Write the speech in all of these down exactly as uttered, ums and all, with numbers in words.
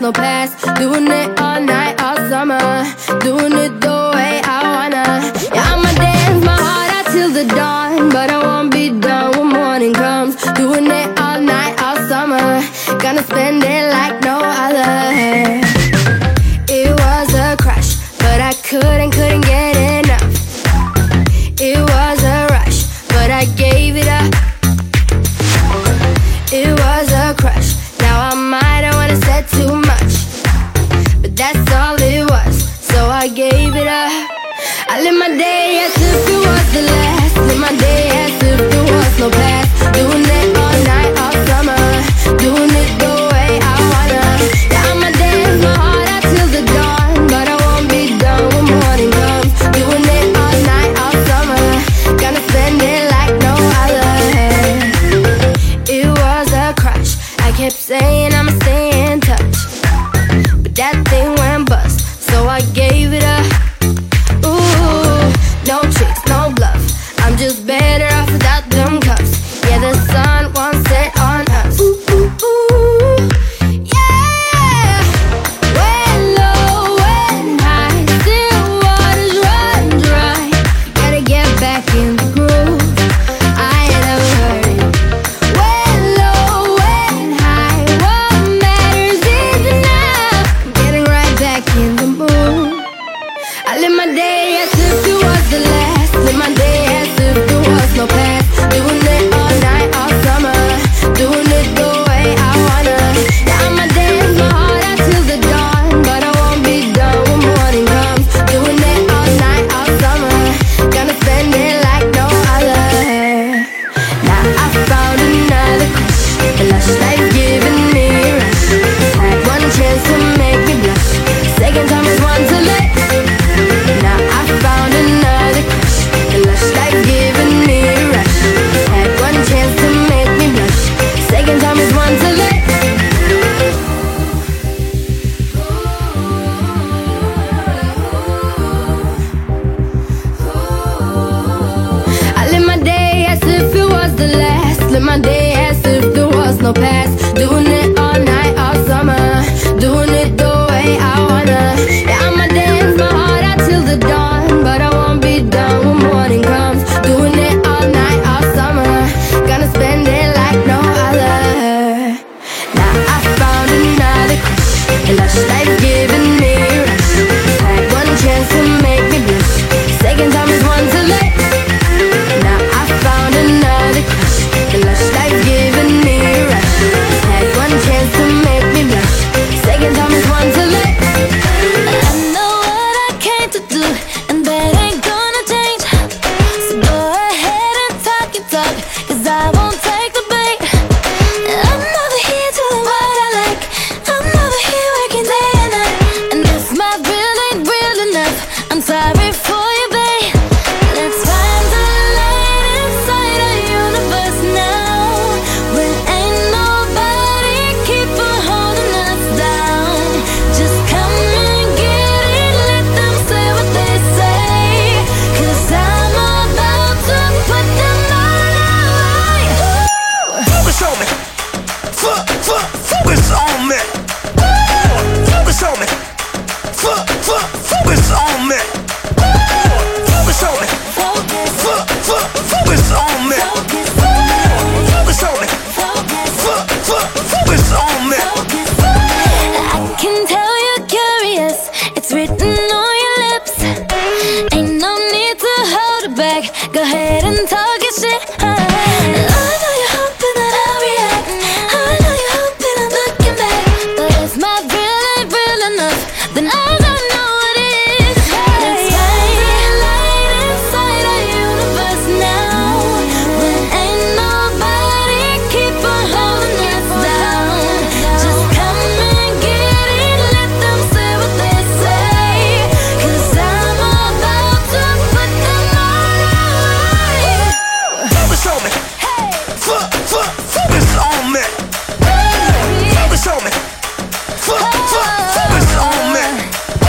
no past. Doing it all night, all summer. Doing it the way I wanna. Yeah, I'ma dance my heart out till the dawn, but I won't be done when morning comes. Doing it all night, all summer. Gonna spend it like no other. It was a crush, but I couldn't, couldn't get enough. It was a rush, but I gave it up. It was a crush. Now I might have wanna said too much, but that's all it was, so I gave it up. I live my day as if it was the last. Live my day as if there was no past. Doing it all night, all summer. Doing it the way I wanna. Yeah, I'ma dance my heart out till the dawn, but I won't be done when morning comes. Doing it all night, all summer. Gonna spend it like no other. It was a crush. I kept saying I'ma stay in touch, but that thing went bust, so I gave it up. Ooh, no tricks, no bluff. I'm just better off without them cuffs. Yeah, the sun won't set on us. Ooh, ooh, ooh, yeah. When low, when high, still waters run dry. Gotta get back in the groove. I ain't never heard it. When low, when high, what matters is enough. Getting right back in the mood. I live my day as if it was the last. Live my day as if there was no past. Doing it all night, all summer. Doing it the way I wanna. Yeah, I'ma dance my heart out till the dawn, but I won't be done when morning comes. Doing it all night, all summer. Gonna spend it like no other. Now I found another crush. The lush life giving me a rush. Had one chance to make me blush. Second time is one to let. Now I found another crush. The lush life giving me a rush. Had one chance to make me blush. Second time is one to let. I live my day as if it was the last. Live my day as if there was no past. Doing it all night, all summer. Doing it the way I wanna. Yeah, I'ma dance my heart out till the dawn, but I won't be done when morning comes. Doing it all night, all summer. Gonna spend it like no other. Now I found another crush. A lush life giving me a rush. Had one chance to make me blush. Second time is one to let. Now I found another crush. The lush life giving me a rush. Had one chance to make me blush. Second time is one to let. I know what I came to do, and that ain't gonna change. So go ahead and talk your talk, cause I won't take the bait. I'm over here doing what I like. I'm over here working day and night. And if my real ain't real enough, I'm sorry for you, babe. Let's find the light inside our universe now, when ain't nobody keep on holding us down. Just come and get it, let them say what they say, cause I'm about to put them all away. Focus on me. F- f- focus on me. Focus on me. F- f- focus on me. Focus on me. Focus, F- f- focus on me. focus, Focus on me. focus, F- f- focus on me. focus. I can tell you're curious, it's written on your lips. Ain't no need to hold it back, go ahead and talk your shit. I know you're hoping that I'll react, I know you're hoping I'm looking back, but if my real ain't real enough, then I don't know what is. Let's find the light inside our universe now, when ain't nobody keep on holding us down. Just come and get it, let them say what they say, cause I'm about to put them all away. Focus on me. F- f- focus on me. Focus on me. F- f- focus on me.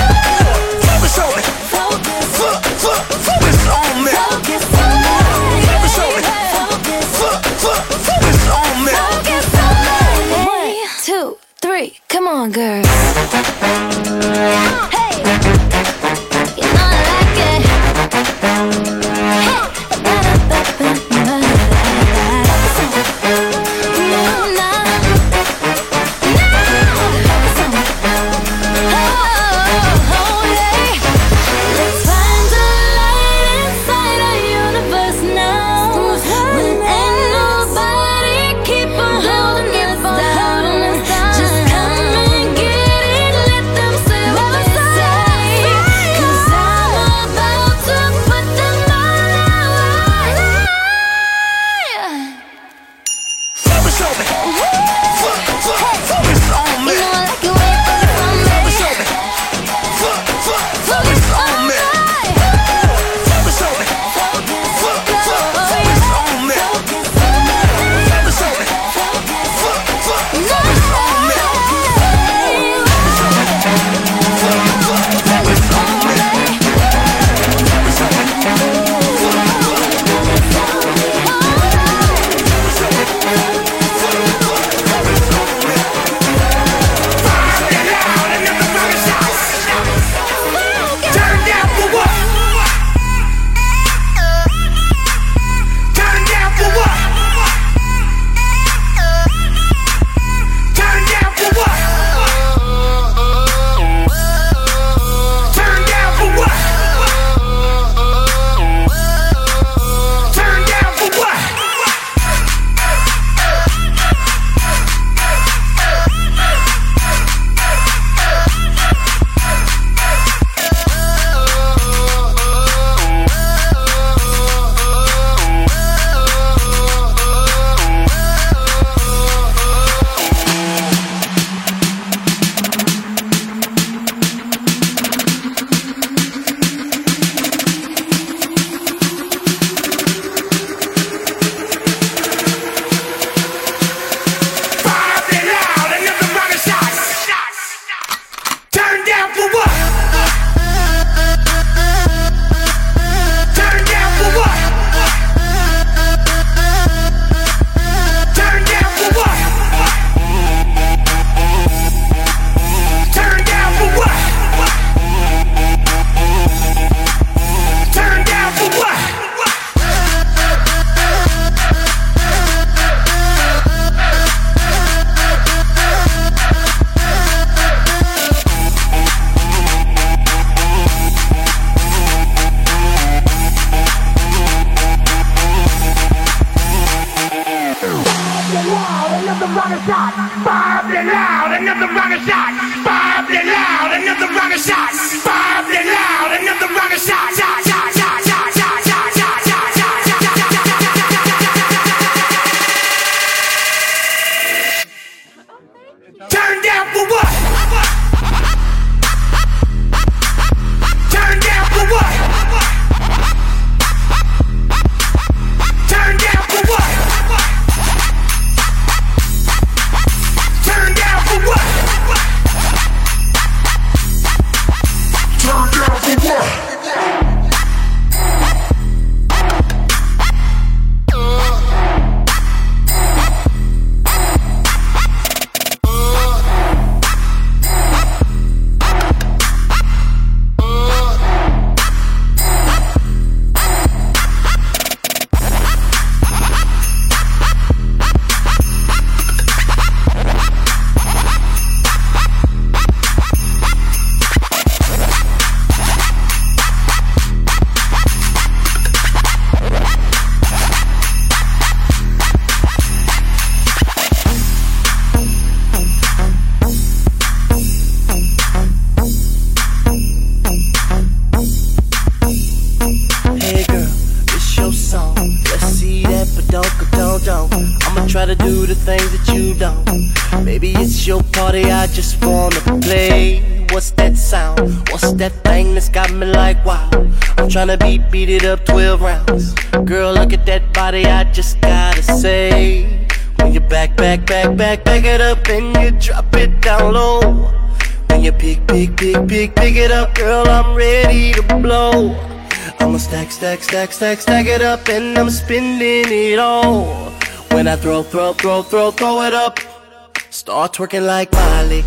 Tryna beat, beat it up twelve rounds. Girl, look at that body, I just gotta say. When you back, back, back, back, back it up and you drop it down low. When you pick, pick, pick, pick, pick it up, girl, I'm ready to blow. I'ma stack, stack, stack, stack, stack it up and I'm spending it all. When I throw, throw, throw, throw, throw it up, start twerking like Miley.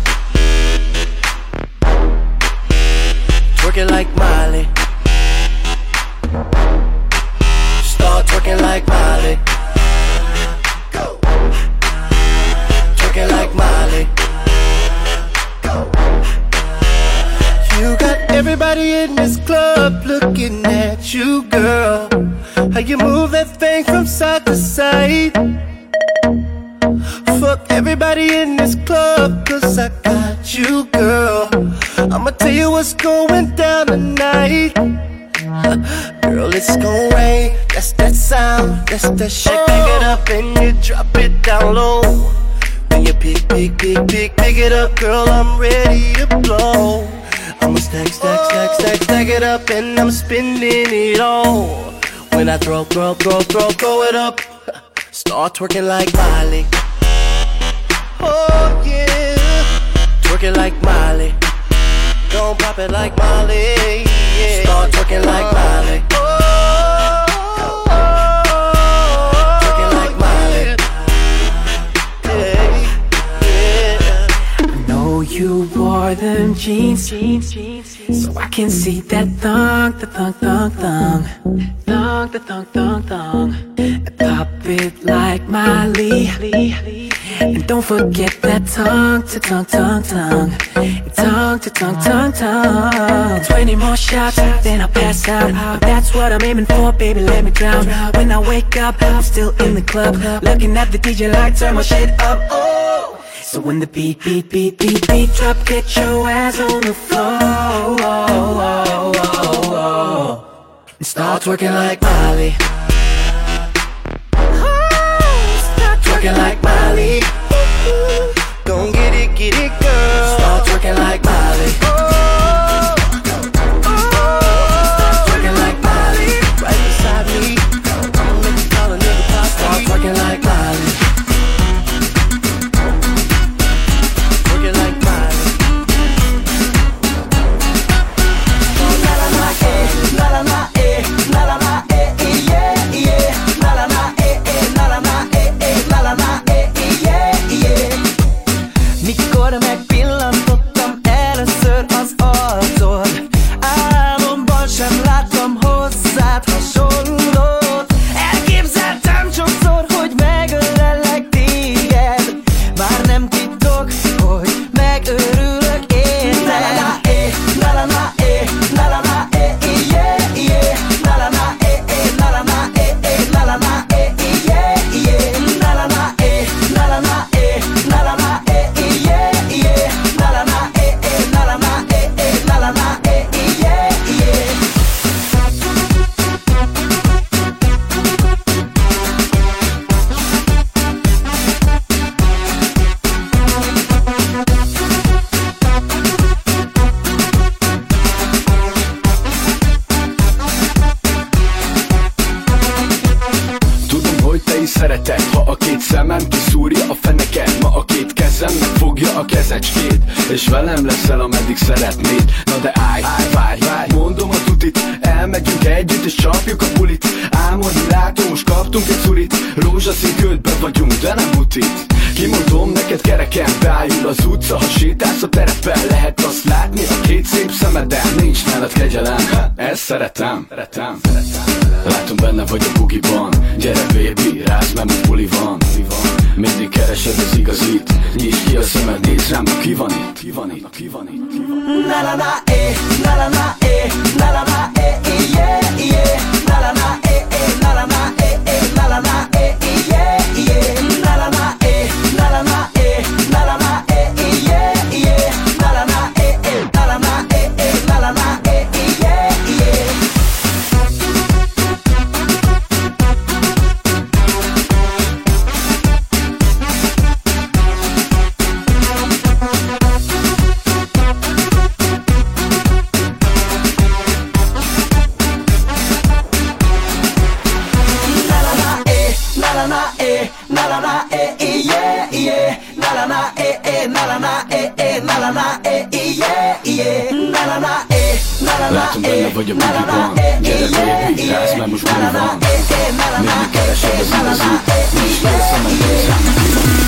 Twerking like Miley. Start twerking like Miley. Go. Twerking like Miley. Go. You got everybody in this club looking at you, girl. How you move that thing from side to side. Fuck everybody in this club, cause I got you, girl. I'ma tell you what's going down tonight. Girl, it's gon' rain, that's that sound, that's that shit. Pick it up and you drop it down low. When you pick, pick, pick, pick, pick it up, girl, I'm ready to blow. I'ma stack, stack, stack, stack, stack it up and I'm spending it all. When I throw, throw, throw, throw, throw it up, start twerking like Miley. Oh yeah, twerking like Miley. Don't pop it like Miley, yeah. Start twerking like Miley. Oh, oh, oh, twerking like Miley. Yeah, yeah. I know you wore them jeans, jeans, jeans, jeans, so I can see that thong, the thong, thong, thong, thong, the thong, thong, thong. And pop it like Miley. And don't forget that tongue to tongue, tongue, tongue, tongue to tongue, tongue, tongue. Twenty more shots, then I'll pass out. That's what I'm aiming for, baby, let me drown. When I wake up, I'm still in the club, looking at the D J like turn my shit up. Oh, so when the beat, beat, beat, beat, beat drop, get your ass on the floor. Oh, oh, oh, oh. And start twerking like Miley. Twerking like Miley. Gon' get it, get it, girl. Start twerking like Miley. Oh, oh, start twerking like Miley. Right beside me. I'ma make you call a nigga pop. Start twerking like Miley. Twerking like Miley. Oh, la la la, eh, la la la, eh, la la la, eh, eh, yeah, yeah, la la la, eh, eh, la la la, eh, eh, la la la, eh, eh, yeah, yeah. Mikor megpillantottam először az arcod, álomban sem láttam hozzád hasonlót. Elképzeltem sokszor, hogy megölellek téged, már nem titok, hogy megőrülök érted. La la la, eh, la la la, eh, la la la, eh, yeah, yeah, la la la, eh, eh, la la la, eh, eh, la la la, eh, yeah, yeah, la la la, eh, la la la, eh, la la la, eh, yeah, yeah, la la la, eh, eh, la la la, eh, eh, la la la, eh, yeah, yeah. Tudom, hogy te is szereted, ha a két szemem kiszúrja a feneket. Ma a két kezem megfogja a kezecskét. és velem leszel, ameddig szeretnéd. Na de állj, várj, várj, mondom a tutit, elmegyünk együtt és csapjuk a bulit. Álmodni látom, most kaptunk egy szurit, rózsaszín ködbe vagyunk, de nem butit. Kimondom neked, kereken beállul az utca, ha sétálsz a terepen, lehet azt látni a két szép szemeden. Nincs nálad kegyelem, ezt szeretem, szeretem. Látom benne vagy a bugiban, gyere baby, rázd, mert most buli van. Mindig keresed az igazit, nyisd ki a szemed, nézd rám, ki van itt, ki van itt, ki van itt, ki van itt. Na na na eh, na na na eh, na na na eh, yeah yeah. Na na na eh eh, na na na eh eh, na na na eh yeah yeah. Na na na eh, na na na eh, na na na eh yeah yeah. Na na na eh eh, na na na eh eh, na na na eh yeah yeah. Na na eh, na na na eh, yeah yeah. Na na na eh eh, na na na eh eh, na na na eh yeah yeah. Na na na eh, na na na eh, na na na eh, gyere baby, rázd, mert most buli van. Mindig keresed az igazit, nyisd ki a szemed, nézd rám, ki van itt.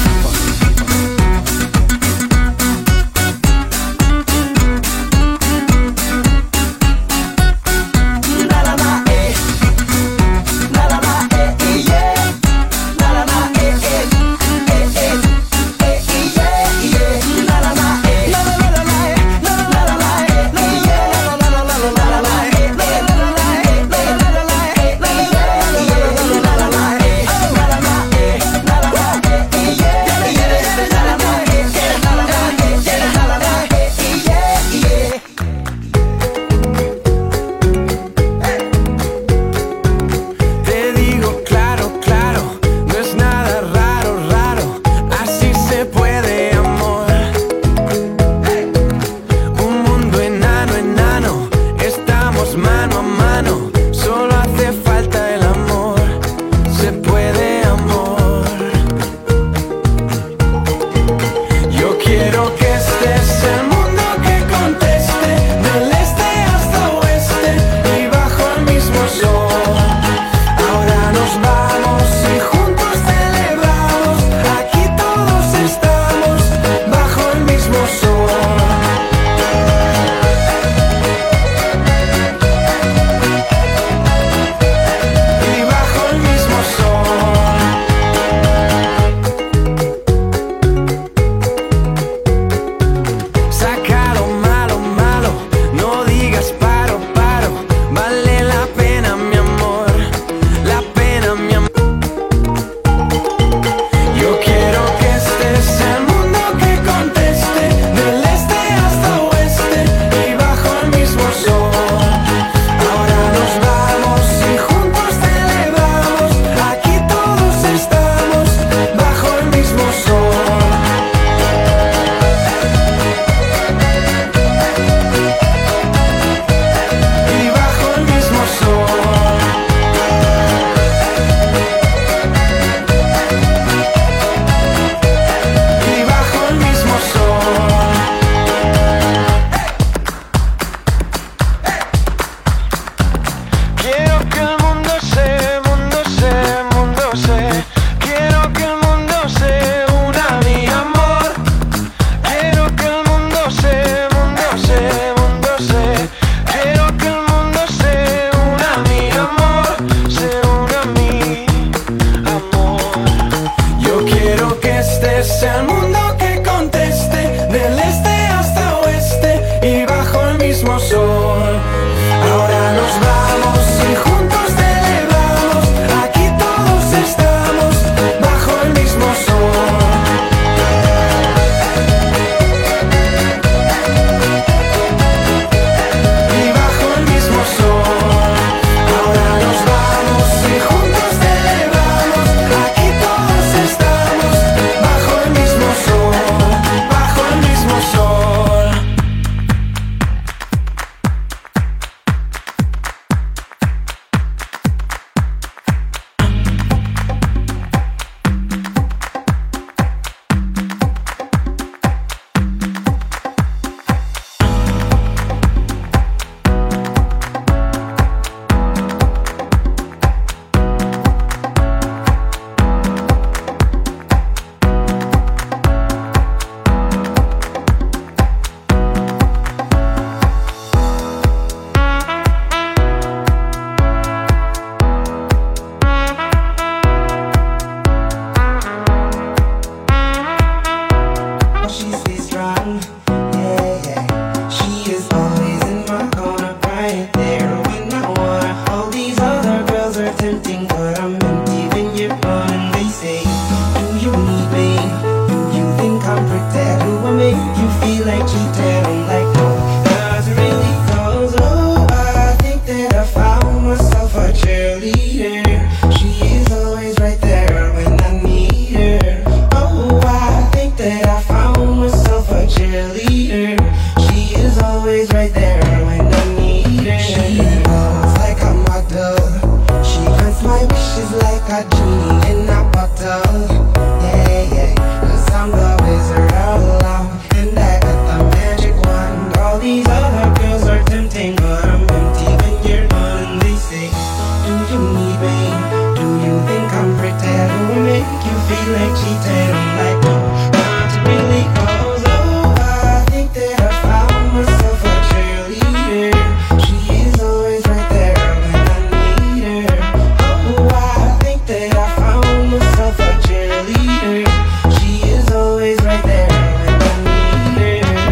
there when I need her. She knows like a model. She grants my wishes like a genie in a bottle. Yeah, yeah, cause I'm the wizard of love, and I got the magic wand. All these other girls are tempting, but I'm empty when you're gone. They say, do you need me? Do you think I'm pretty? Do I make you feel like cheating? I'm like, no, not really, cause oh, I think that I found myself a cheerleader. She is always right there when I need her. Oh, I think that I found myself a cheerleader. She is always right there when I need her.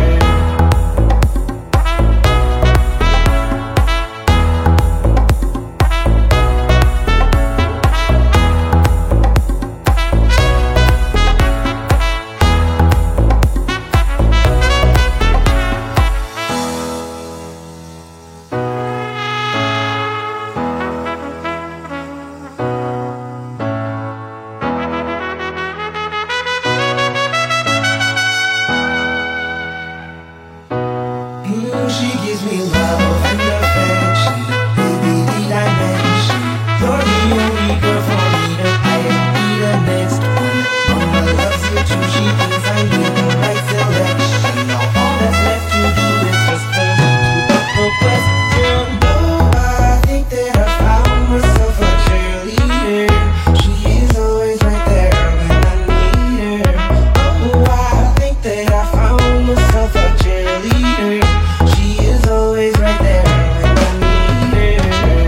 Mm, she gives me love and affection. Baby, did I mention you're the only girl for me to I be the next one. Mama loves you too. She thinks I made the right selection. Now all that's left to do is just the the question. Oh, I think that I found myself a cheerleader. She is always right there when I need her. Oh, I think that I found myself a cheerleader. She is always right there when I need her.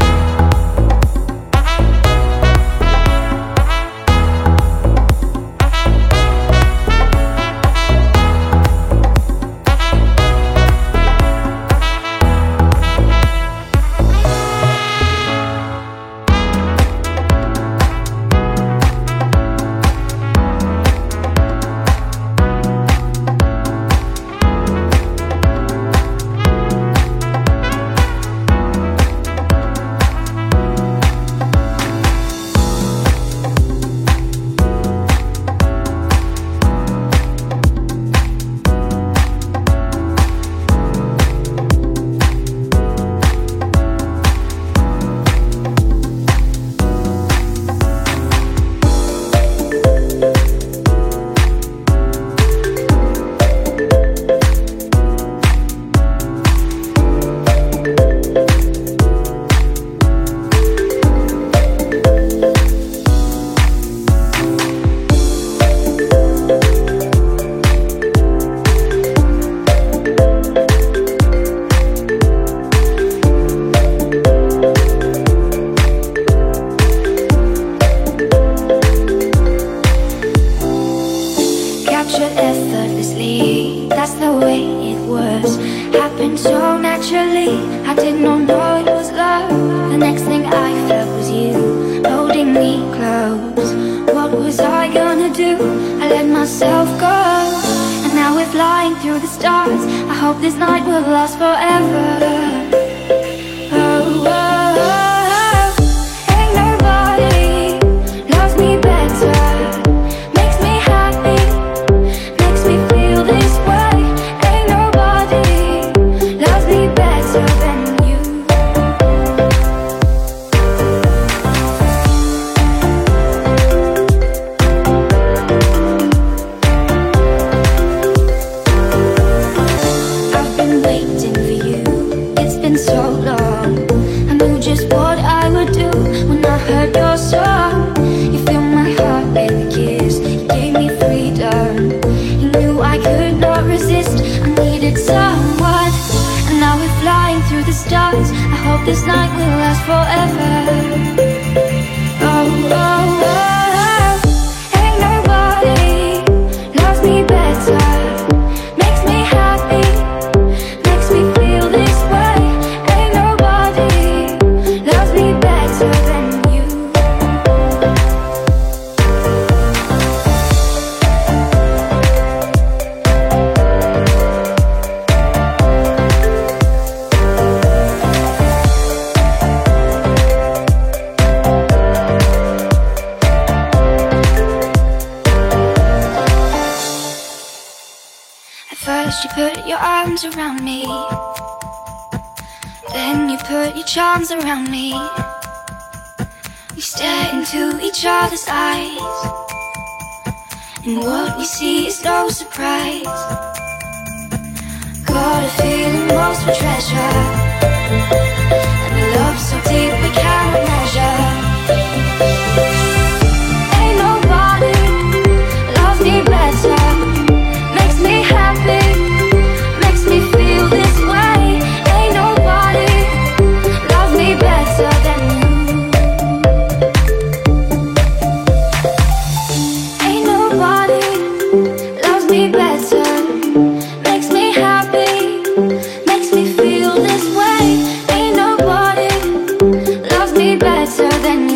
Captured effortlessly, that's the way it was. Happened so naturally, I did not know it was love. The next thing I felt was you, holding me close. What was I gonna do? I let myself go. And now we're flying through the stars. I hope this night will last forever. Oh, oh, oh. Ain't nobody loves me better. Makes me happy, makes me feel this way. Ain't nobody loves me better than you. I've been waiting for you, it's been so long. I knew just what I would do when I heard your song. You filled my heart with a kiss, you gave me freedom. You knew I could not resist, I needed someone. And now we're flying through the stars. I hope this night will last forever. Oh, oh, oh. Ain't nobody loves me better. Makes me happy, makes me feel this way. Ain't nobody loves me better than you. At first you put your arms around me, put your charms around me. We stare into each other's eyes, and what we see is no surprise. Got a feeling most for treasure, and a love so deep we cannot measure. Ain't nobody loves me better, makes me happy, makes me feel this way. Ain't nobody loves me better than you. Ain't nobody loves me better, makes me happy, makes me feel this way. Ain't nobody loves me better than you.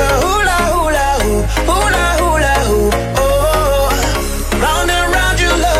Round and round your love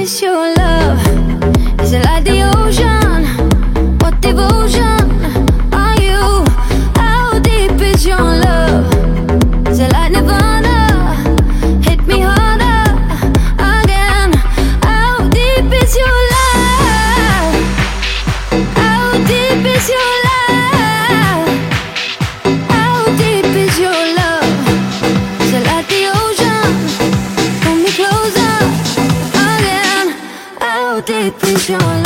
is your love? Is it like the ocean? What devotion are you? How deep is your love? Is it like Nirvana? Hit me harder again. How deep is your love? How deep is your love? How deep is your love? Is it like the ocean? Pull me closer again. How deep is your love?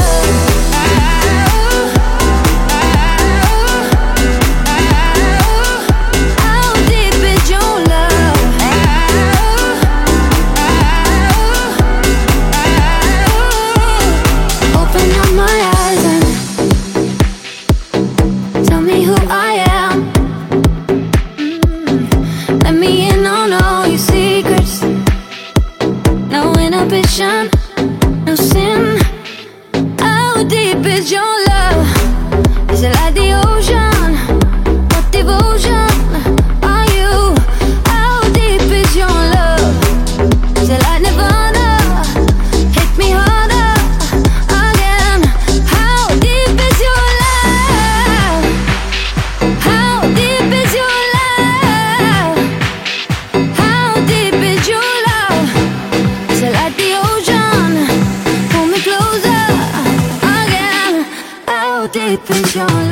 How deep is your love? Open up my eyes and tell me who I am. Mm. Let me in on all your secrets. No inhibition, no sin. How deep is your love? Is it like the ocean? What devotion are you? How deep is your love? Is it like Nirvana? Hit me harder again. How deep is your love? How deep is your love? How deep is your love? Is it like the ocean? Pull me closer again. How deep is your love?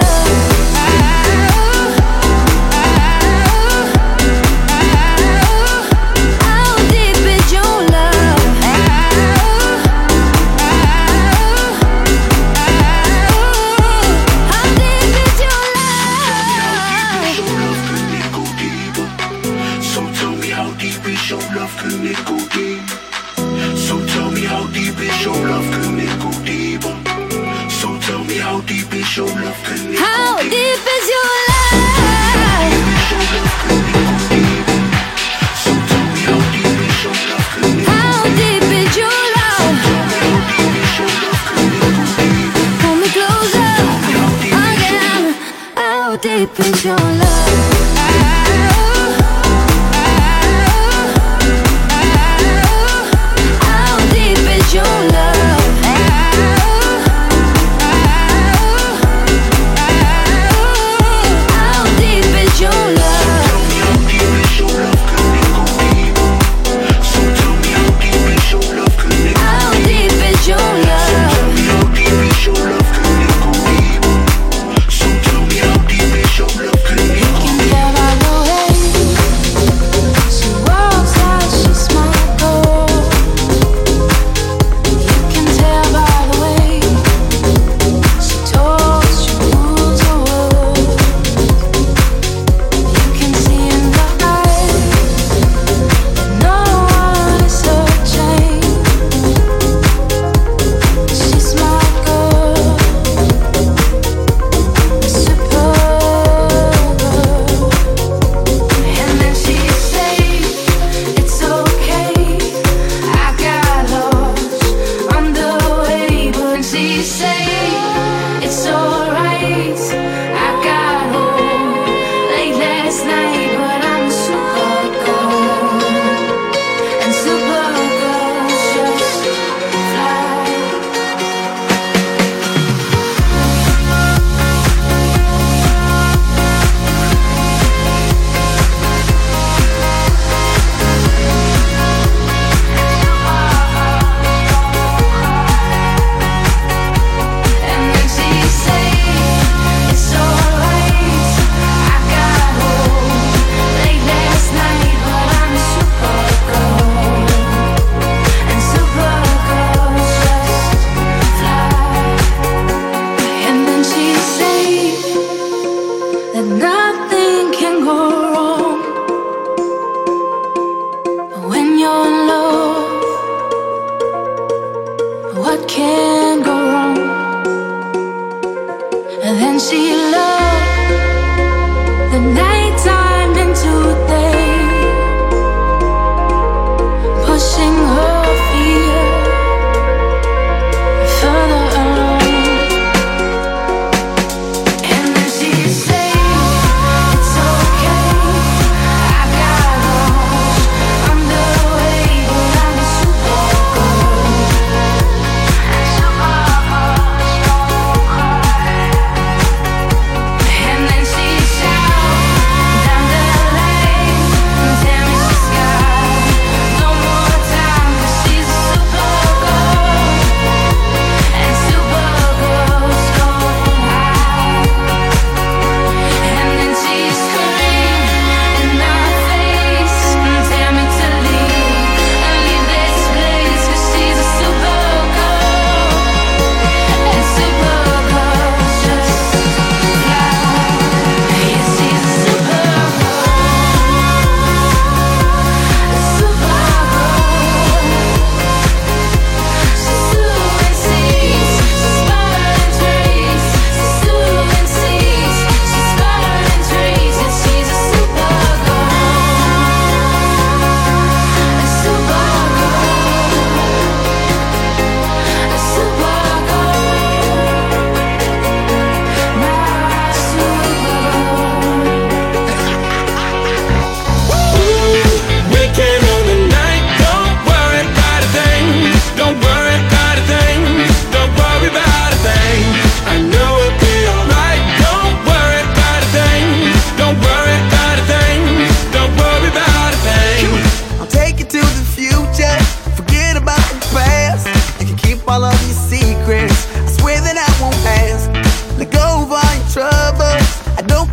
How deep is your love? How deep is your love? So tell me how deep is your love, can it go deep? So tell me how deep is your love, can it go deeper? So tell me how deep is your love, can it go How deep? deep is your love? So tell me how deep is your love, can it go How deep is your love? Pull me closer again. How deep is your love? How deep is your love? How deep is your love? So tell me how deep is your love, can it go How deep is your love? How deep is your love, can it go deep? So tell me how deep is your love, can it go deep?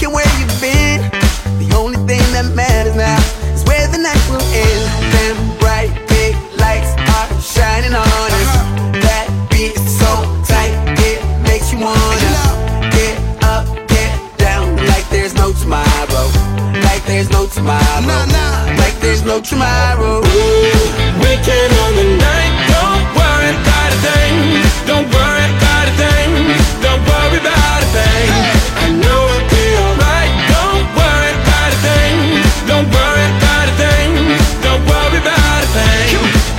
care where you've been. The only thing that matters now is where the night will end. Them bright big lights are shining on us. That beat is so tight, it makes you wanna get up, get down, like there's no tomorrow. Like there's no tomorrow. Like there's no tomorrow. Weekend on the night, don't worry about a thing. Don't worry about a thing. Don't worry about a thing. I know it'll be alright. Don't worry about a thing. Don't worry about a thing. Don't worry about a thing.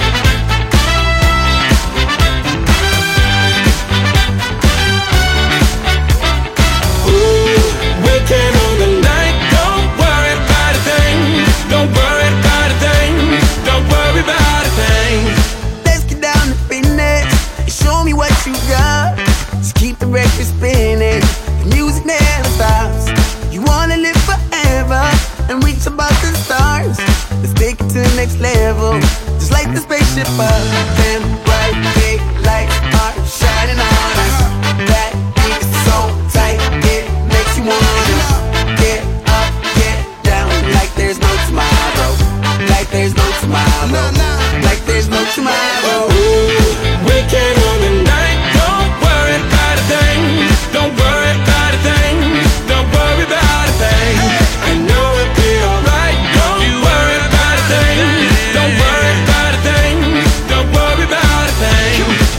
Ooh, weekend on the night, don't worry about a thing. Don't worry about a thing. Don't worry about a thing. Let's get down to business and show me what you got. Just keep the record spinning, the music never stops. You wanna live forever and reach above the stars. Let's take it to the next level, just like the spaceship up. Them bright big lights are shining on us. That beat is so tight, it makes you wanna get up, get down, like there's no tomorrow. Like there's no tomorrow. Like there's no tomorrow. Weekend on the night, don't worry about a thing. Don't worry about a thing. Don't worry about a thing. I know it'll be alright. Don't worry about a thing. Don't worry about a thing. Don't worry about a thing.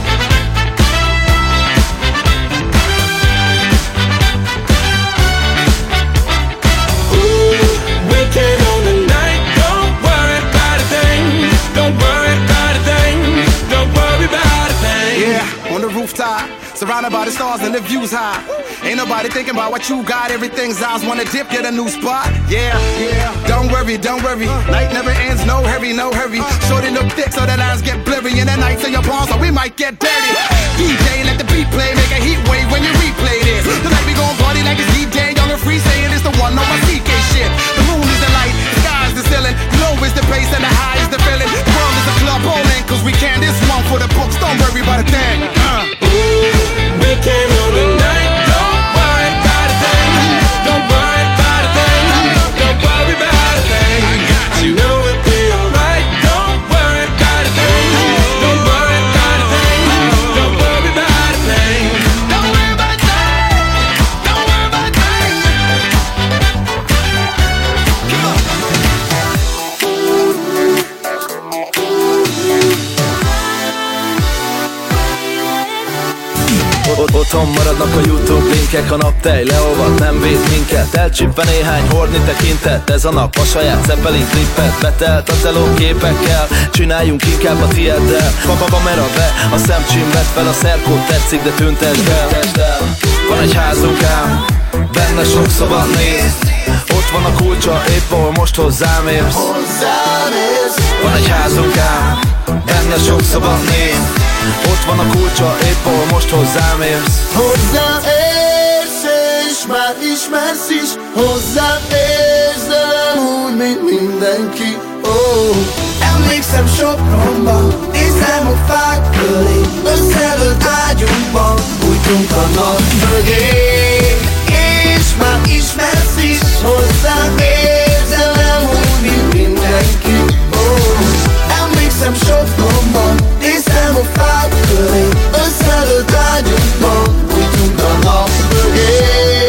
Ooh, weekend on the night, don't worry about a thing. Don't worry about a thing. Don't worry about a thing. Yeah, on the rooftop, surrounded by the stars and the views high. Ain't nobody thinking about what you got. Everything's eyes wanna dip, get a new spot. Yeah, yeah. Don't worry, don't worry. Night never ends, no hurry, no hurry. Shorty look thick so the lines get blurry. And the nights in your palms, so we might get dirty. D J, let the beat play, make a heat wave when you replay this. Tonight we gon' party like it's D J, young and free, saying it's the one on my C K shit. The moon is the light, the sky is the ceiling. Low is the bass and the high is the feeling. The world is a club bowling, cause we can. This one for the books, don't worry about a thing. Uh. Ooh, weekend on the night, don't worry about a thing. Don't worry about a thing. Don't worry about a thing. I know it'll be alright. Don't worry about a thing. Don't worry about a thing. Don't worry about a thing. Don't worry about a thing. Don't worry about a thing. Come on. Otthon maradnak a YouTube linkek, a naptej leolvad, nem véd minket. Elcsípve néhány hordni tekintet, ez a nap a saját Zeppelin klippet. Betelt a teló képekkel, csináljunk inkább a tieddel. Papa kamera be, a szemcsim vett fel, a szerkót tetszik, de tüntesd el. Van egy házunk ám, benne sok szoba néz. Ott van a kulcsa, épp ahol most hozzám érsz. Van egy házunk ám, benne sok szoba néz. Ott van a kulcsa, épp ahol most hozzám érsz. Hozzám érsz és már ismersz is. Hozzám érsz, de nem úgy, mint mindenki. Oh. Emlékszem Sopronba, nézem a fák köré. Összedőlt ágyunkban, bújtunk a nap mögé. És már ismersz is. Hozzám érsz, de nem úgy, mint mindenki. Oh. Emlékszem Sopronba, nézem a fák köré. Összedőlt ágyunkban, bújtunk a nap mögé.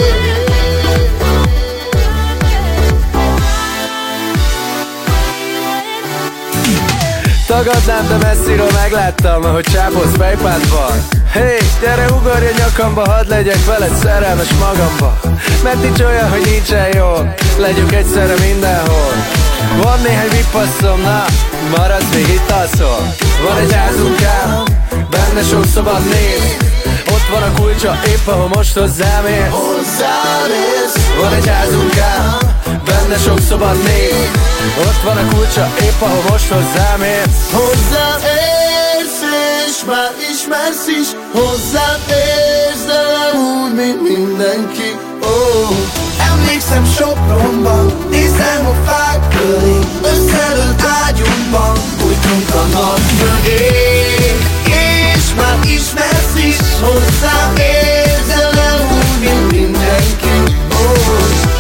Tagadnám, de messziről megláttam, ahogy csápolsz fejpádban. Hey, gyere ugorj a nyakamba, hadd legyek veled szerelmes magamba. Mert nincs olyan, hogy nincsen jól, legyünk egyszerre mindenhol. Van néhány vipasszom, na, maradsz még itt alszol. Van egy házunk ám, benne sok szabad néz. Ott van a kulcsa, épp ahol most hozzám érsz. Hozzám érsz. Van egy házunk ám, benne sok szabad néz. Ott van a kulcsa, épp ahol most hozzám érsz. Hozzám érsz és már ismersz is. Hozzám érsz, de nem úgy, mint mindenki. Oh. Emlékszem Sopronban, nézem a fák köré. Összedőlt ágyunkban, bújtunk a nap mögé. És már ismersz is. Hozzám érsz, de nem úgy, mint mindenki. Oh.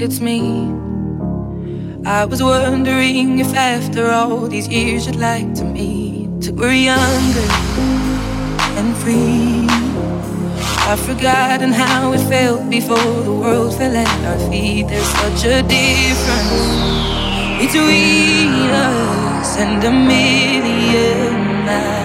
towards me. I was wondering if after all these years you'd like to meet. Till we're younger and free. I've forgotten how it felt before the world fell at our feet. There's such a difference between us and a million miles.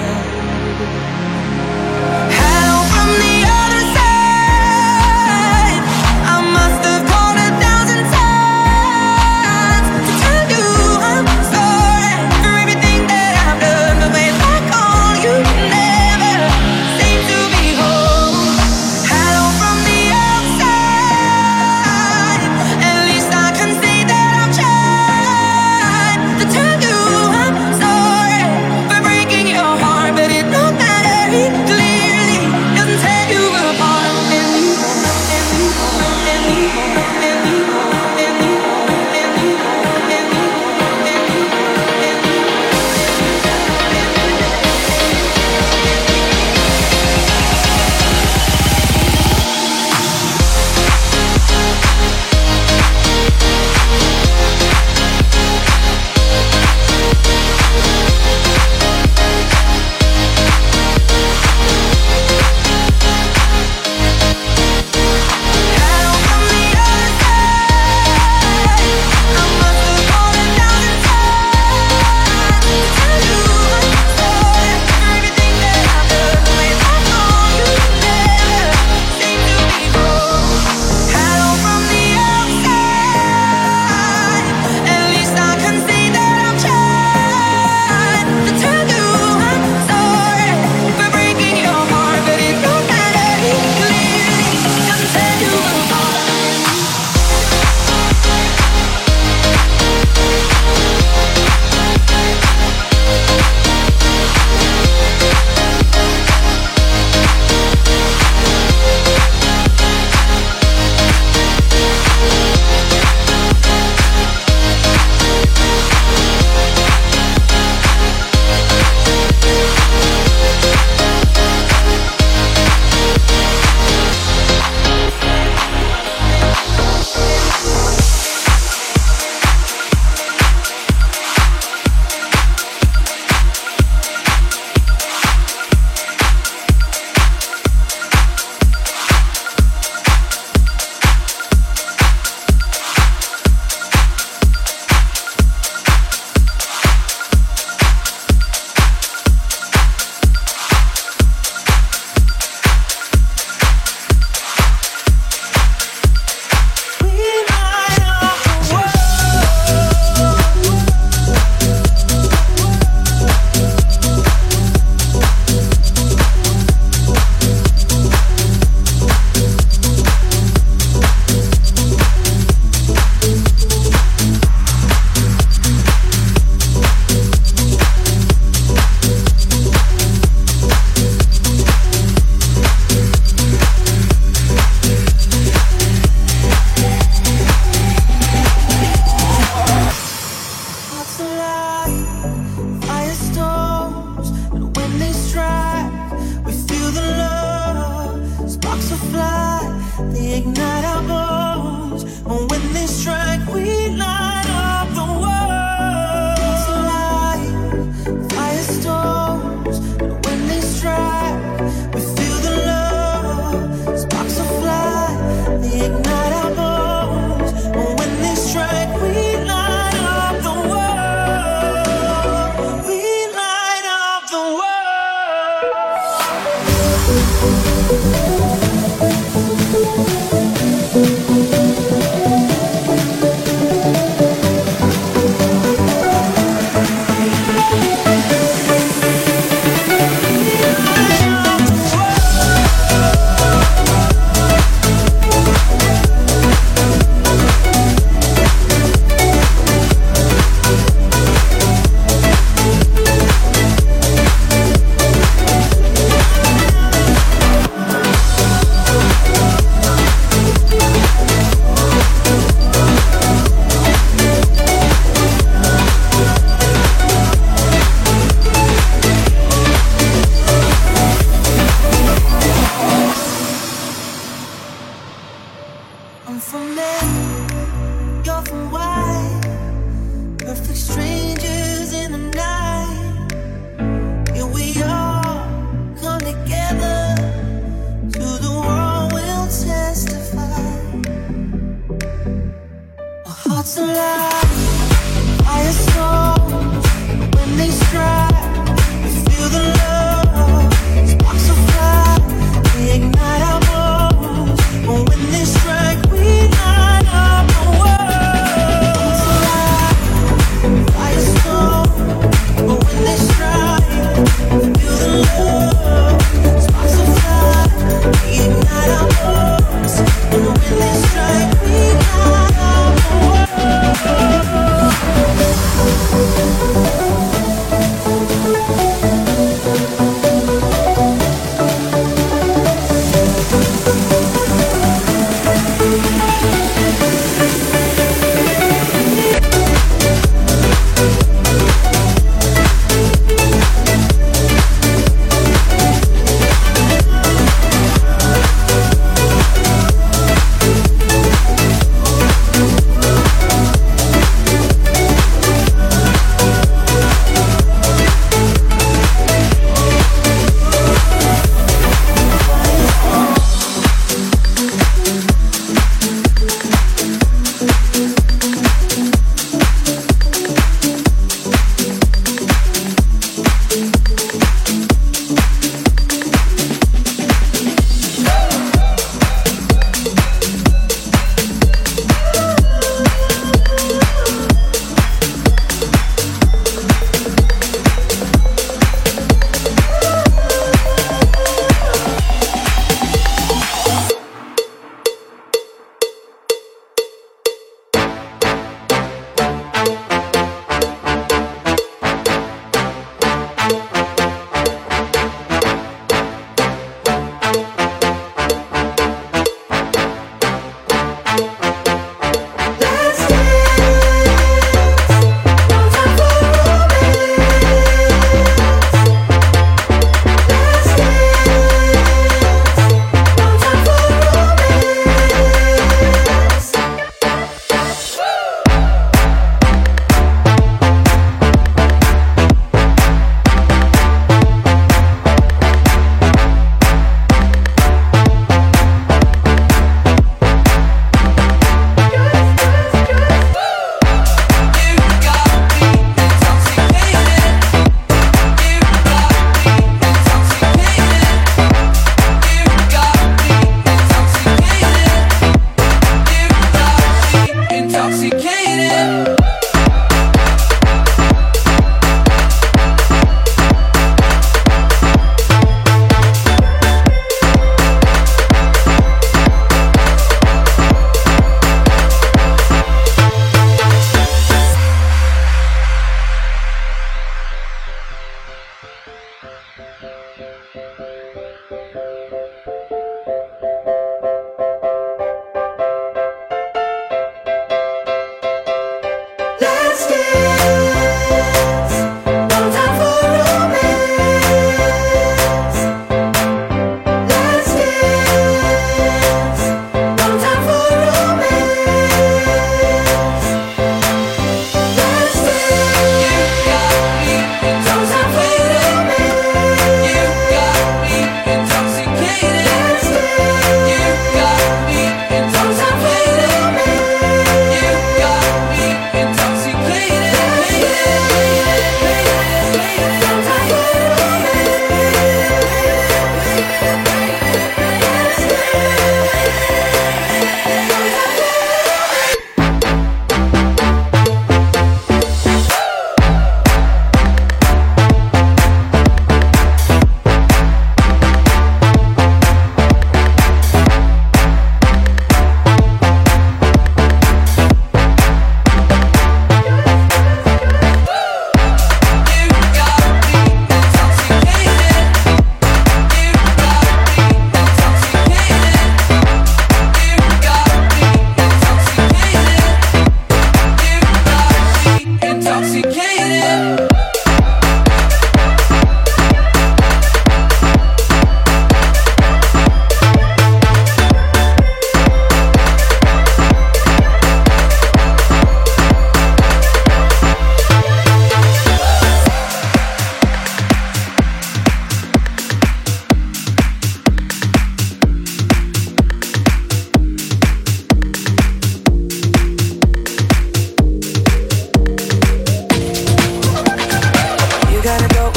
We'll be right back.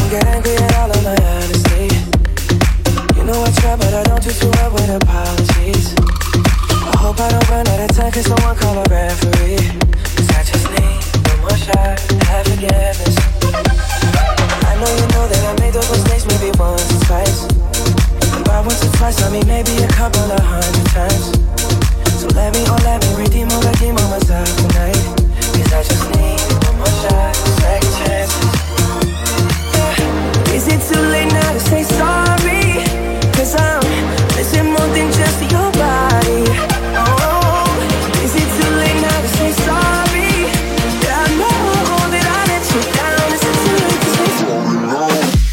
don't get angry at all of my honesty. You know I try, but I don't do too well with apologies. I hope I don't run out of time, can someone call a referee? Cause I just need one more shot, have forgiveness. I know you know that I made those mistakes maybe once or twice. And by once or twice, I mean maybe a couple of hundred times. So let me, oh let me redeem or redeem on myself tonight. Cause I just need one more shot, second chances. Yeah. Is it too late now to say sorry? Cause I'm missing more than just your body. Oh, is it too late now to say sorry? Yeah, I know that I let you down. Is it too late to say sorry now?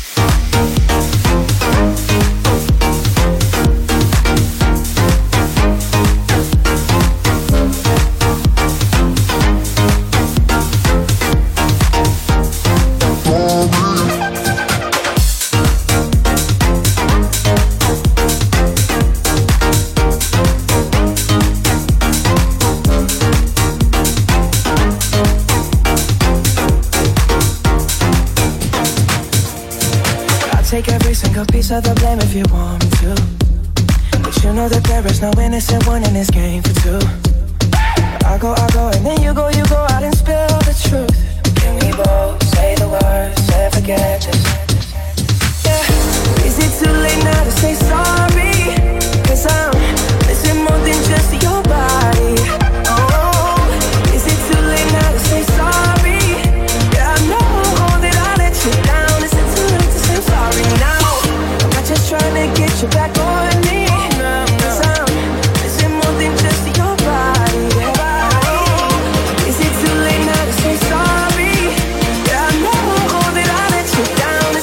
Take every single piece of the blame if you want me to. But you know that there is no innocent one in this game for two. I go, I go, and then you go, you go out and spill the truth. Can we both say the words and forget this? Yeah. Is it too late now to say sorry? Cause I'm missing more than just your body. Oh, is it too late now to say sorry? Yeah, I know that I let you down. Is it too late to say sorry now? I'm not just trying to get you back on me. Cause I'm missing more than just your body. Is it too late now to say sorry? Yeah, I know that I let you down.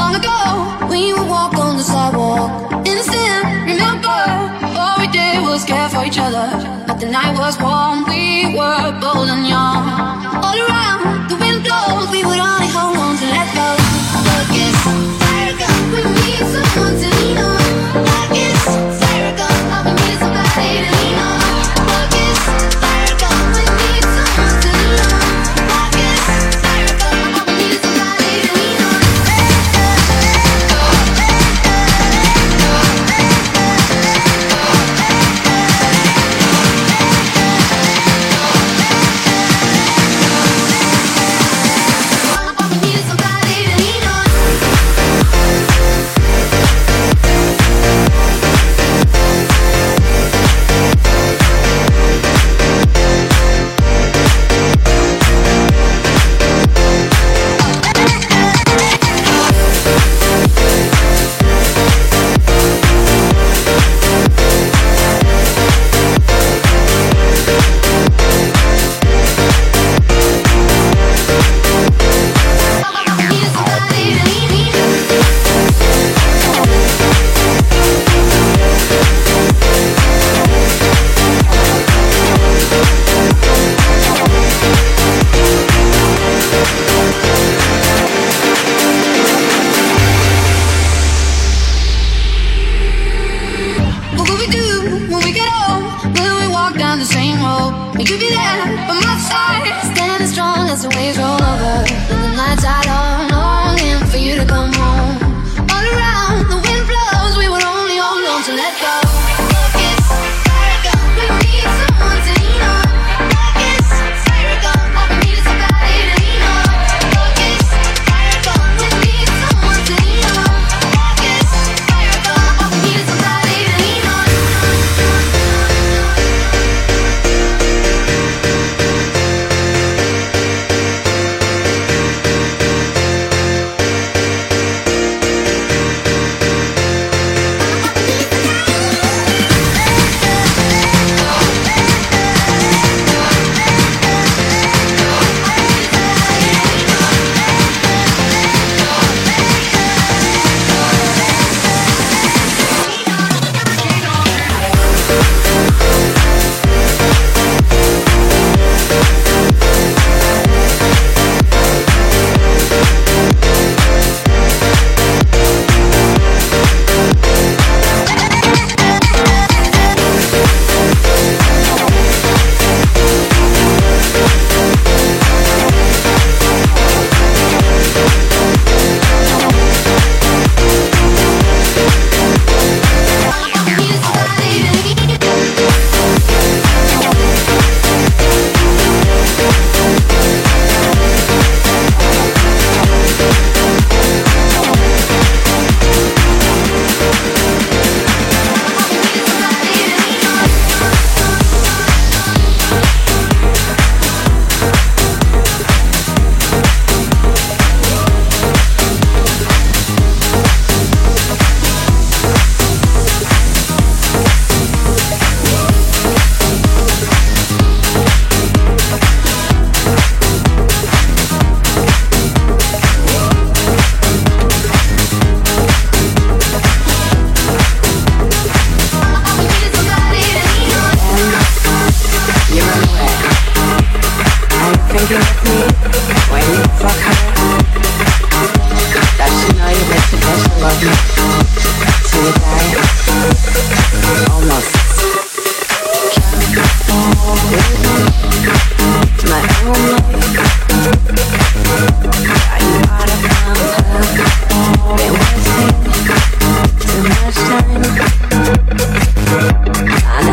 long ago, we would walk on the sidewalk. Innocent, remember, all we did was care for each other. But the night was warm, we were bold and young. All around, the wind blows, we would only hold on to let go. Look, it's fire gun, we need someone to lean on. Look, it's fire gun, I've been needing somebody to lean on. Look, it's fire gun, we need someone to lean on. Look, it's fire gun, I've been needing somebody to lean on.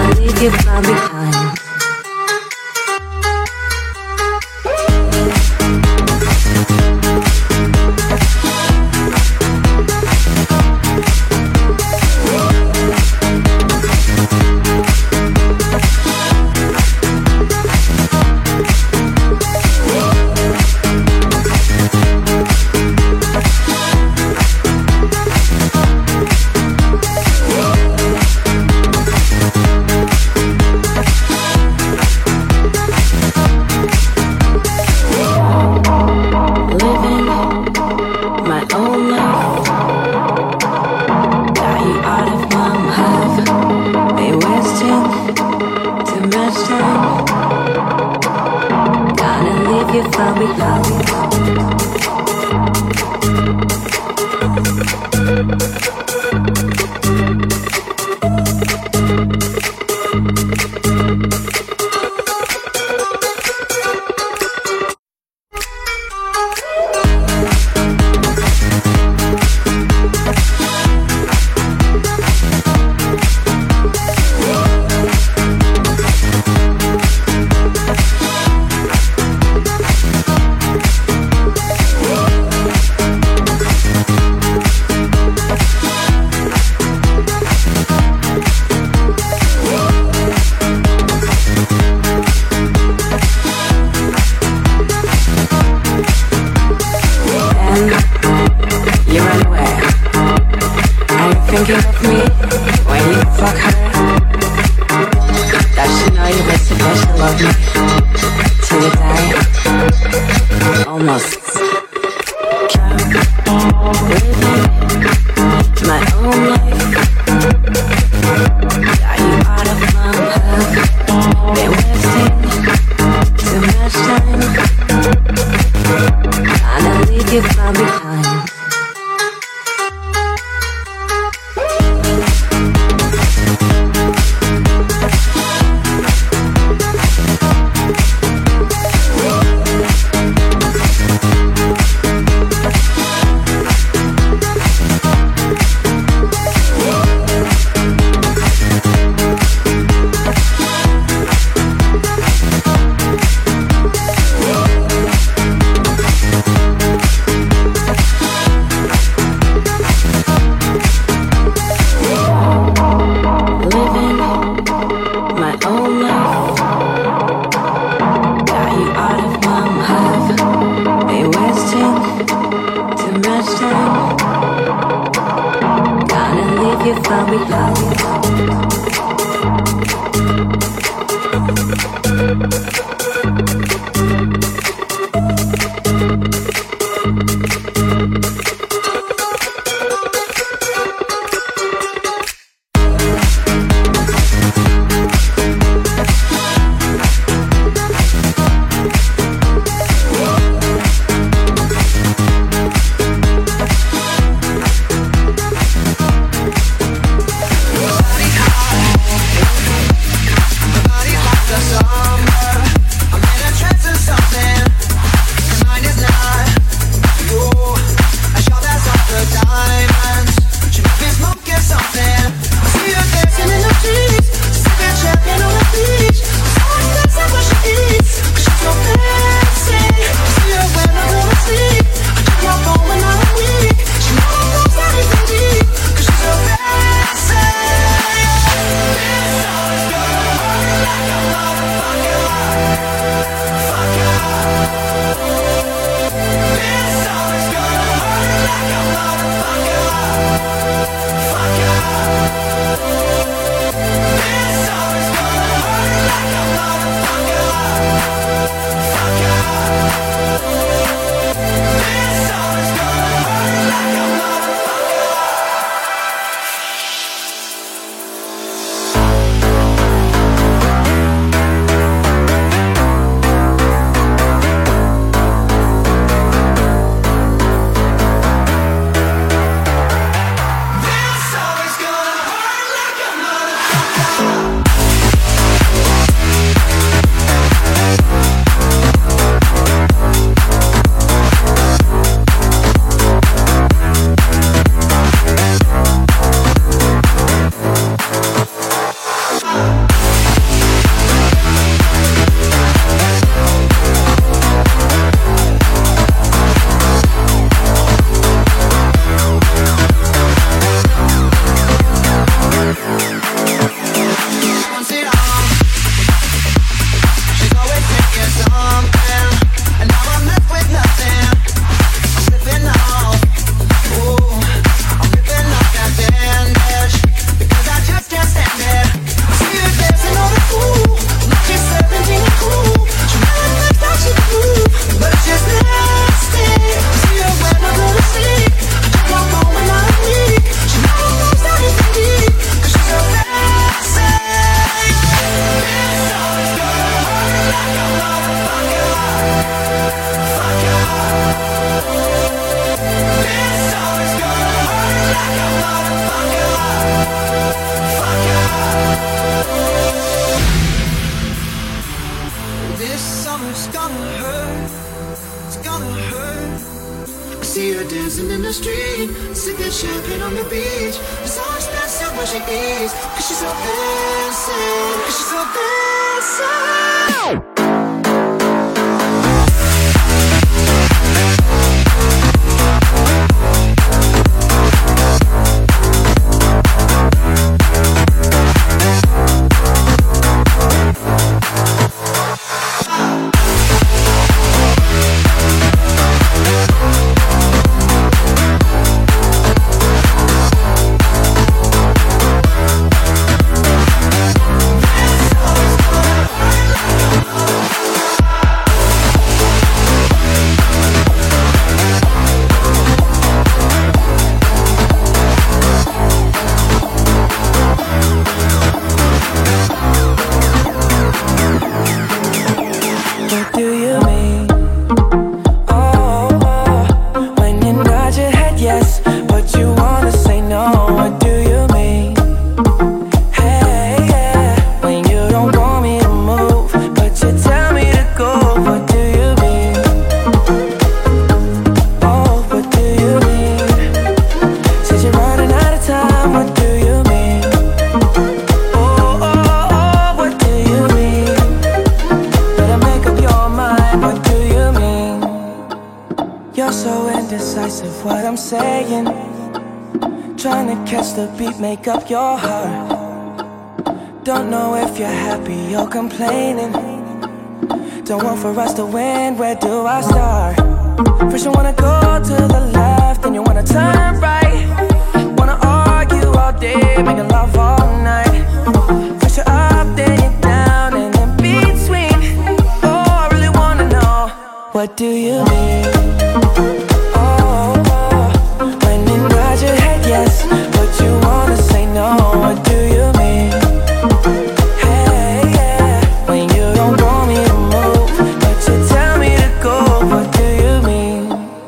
you far behind. Body see her dancing in the street, sipping champagne on the beach. It's so expensive when she eats, cause she's so fancy, cause she's so fancy. Make up your heart. Don't know if you're happy or complaining. Don't want for us to win, where do I start? First you wanna go to the left, then you wanna turn right. Wanna argue all day, making love all night. First you're up, then you're down, and in between. Oh, I really wanna know, what do you mean? Oh, oh, when you nod your head yes, but you wanna say no, what do you mean? Hey, yeah, when you don't want me to move, but you tell me to go, what do you mean?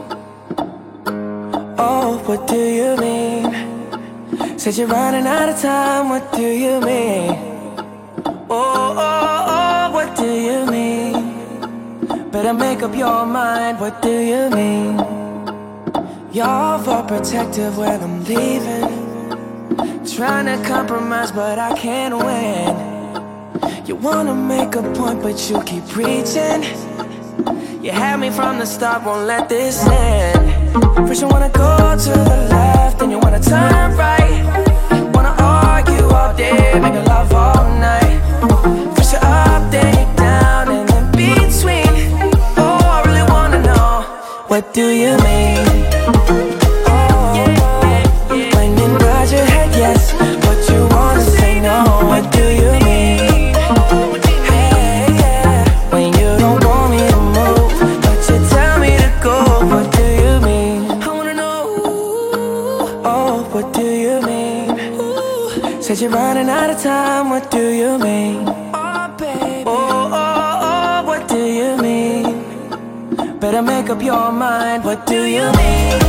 Oh, what do you mean? Said you're running out of time, what do you mean? Oh, oh, oh, what do you mean? Better make up your mind, what do you mean? You're overprotective when I'm leaving. Trying to compromise, but I can't win. You wanna make a point, but you keep preaching. You had me from the start, won't let this end. First you wanna go to the left, then you wanna turn right. Wanna argue all day, making love all night. First you're up, then you're down, and in between. Oh, I really wanna know, what do you mean? Your head yes, but you wanna say no, what do you mean? Hey, yeah, when you don't want me to move, but you tell me to go, what do you mean? I wanna know, oh, what do you mean? Said you're running out of time, what do you mean? Oh, baby, oh, oh, oh, what do you mean? Better make up your mind, what do you mean?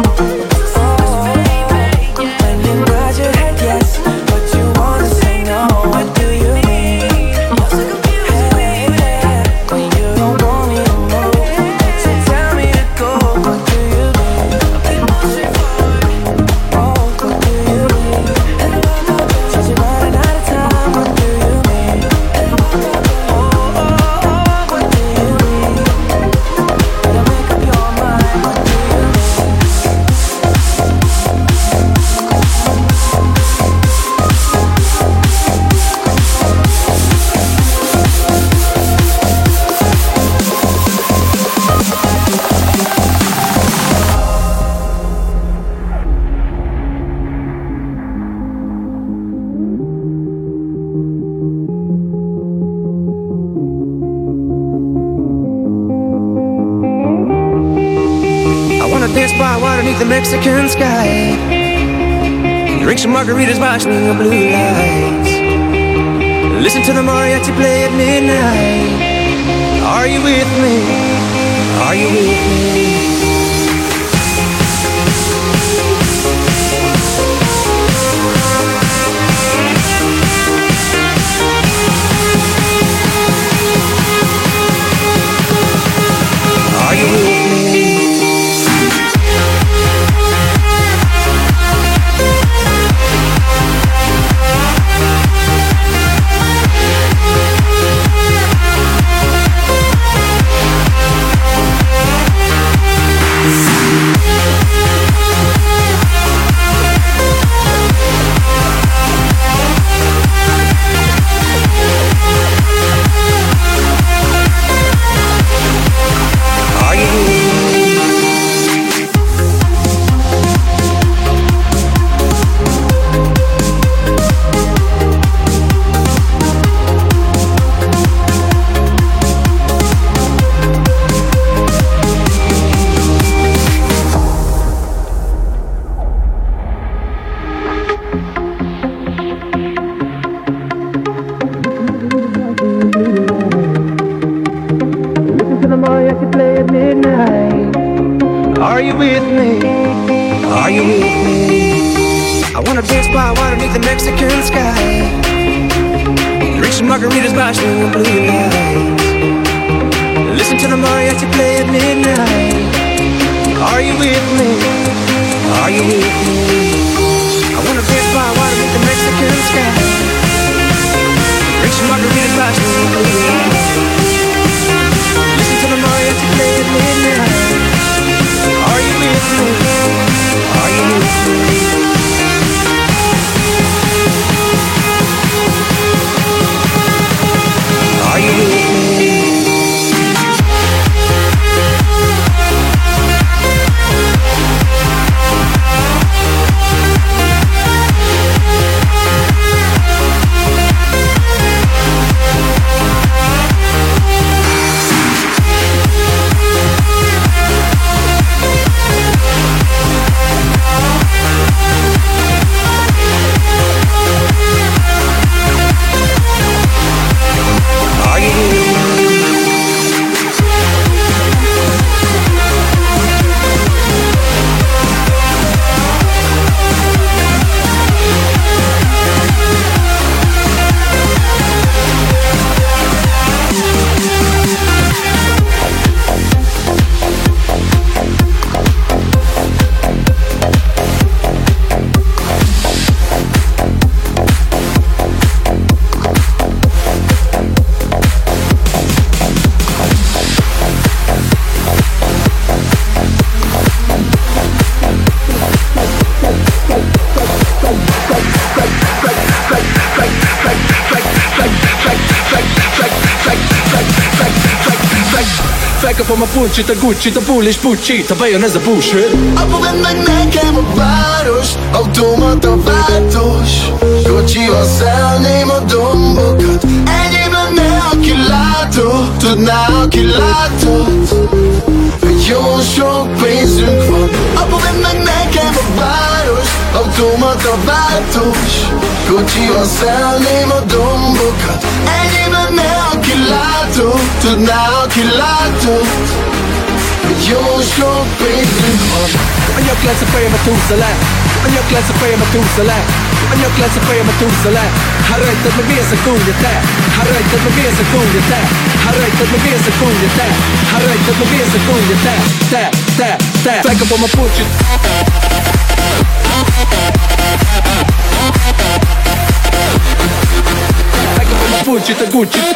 Nod your head yes, but you wanna say no, what do you mean? Hey, yeah, when you don't want me to move, but you tell me to go, what do you mean? Oh, what do you mean? Said you're running out of time, what do you mean? Oh, oh, oh, what do you mean? Better make up your mind, what do you mean? Dance by water beneath the Mexican sky. Drink some margaritas watching the blue lights. Listen to the mariachi play at midnight. Are you with me? Are you with me? Are you with me? at midnight. Are you with me? Are you with me? I wanna dance by water beneath the Mexican sky. Drink some margaritas by swinging blue lights. Listen to the mariachi play at midnight. Are you with me? Are you with me? I wanna dance by water beneath the Mexican sky. Drink some margaritas by swinging blue lights. Listen to the mariachi play at midnight. Are you with me? Are you with me? Are you with me? Felkapom a puncsit, a Gucci-t, a bull és Pucci-t, ha bejön ez a bullshit. Apu, vedd meg nekem a város, automata váltós. Kocsival szállném a dombokat, ennyi lenne, aki látó, tudná, aki látott, hogy jó sok pénzünk van. Apu, vedd meg nekem a város, automata váltós. Kocsival szállném a dombokat, ennyi lenne, aki látó, tudná, aki látott, hogy jó sok pénzünk van. A nyak lesz a fejemet húzza le, a nyak lesz a fejemet húzza le, a nyak lesz a fejemet húzza le. Ha rajtad meg mi ez a kúrja te, ha rajtad meg mi ez a kúrja te, ha rajtad meg mi ez a kúrja te, ha rajtad meg mi ez a kúrja te, te, te, te. Felkapom a puncsit. Felkapom a puncsit, a Gucci-t.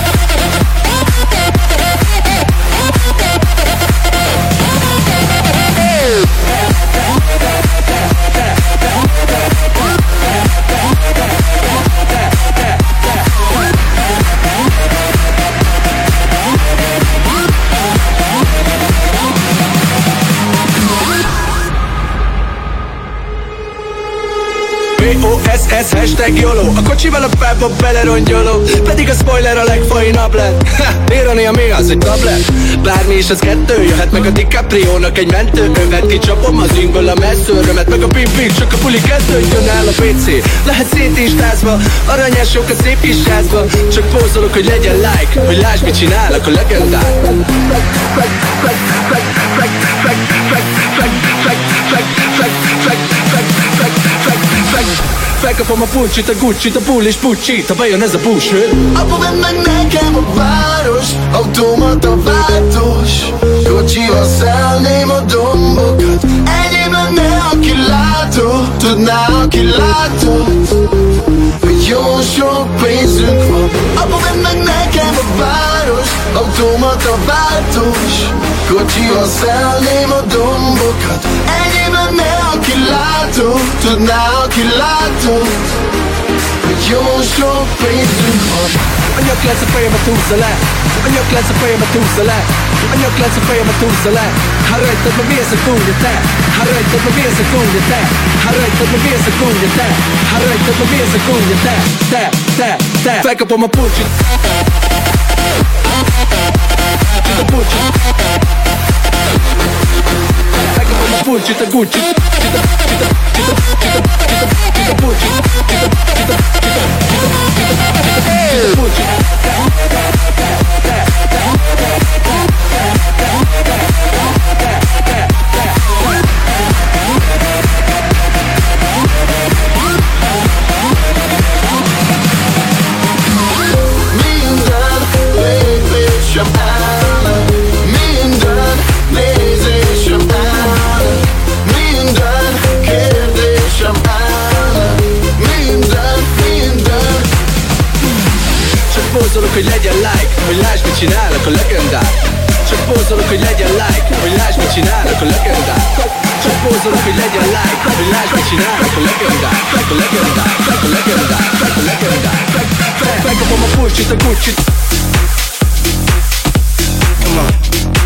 B O S S hashtag YOLO. A kocsival a pápa belerongyoló, pedig a spoiler a legfainabb lett. Ha, Irania mi az, egy tablet? Bármi is az kettő, jöhet meg a DiCaprio-nak egy mentő. Övet kicsapom az ingből a messzőrömet, meg a pimpik, csak a puli kezdődjön el a pé cé. Lehet szétistázva, aranyások a szép kis házba. Csak pózolok, hogy legyen like, hogy lásd, mit csinálok a legendák. Felkapom a puncsit, a Gucci-t, a bull és Pucci-t, ha bejön ez a bullshit. Apu, vedd meg nekem a város, automata váltós. Kocsival szállném a dombokat, ennyi lenne, aki látó, tudná, aki látott, hogy jó sok pénzünk van. Apu, vedd meg nekem a város, automata váltós. Kocsival szállném a dombokat, ennyi lenne, aki látó, tudná, aki látott, hogy jó sok pénzünk van. A nyak lesz a fejemet húzza le, a nyak lesz a fejemet húzza le, a nyak lesz a fejemet húzza le. Ha rajtad meg mi ez a kúrja te, ha rajtad meg mi ez a kúrja te, ha rajtad meg mi ez a kúrja te, ha rajtad meg mi ez a kúrja te, te, te, te. Felkapom a puncsit. A puncsit. Felkapom a puncsit, a Gucci-t. Csita, csita, csita, csita, csita, csita, puncsit. Csita, csita, csita, csita, csita, csita, puncsit. hogy legyen like, hogy lásd, mit csinálnak a legendák. Csak pózolok, hogy legyen like, hogy lásd, mit csinálnak a legendák. A legendák, a legendák, a legendák. Megkapom a pulcsit, a Gucci-t. Come on.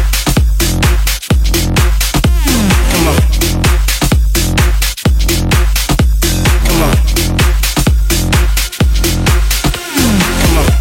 Come on. Come on. Come on.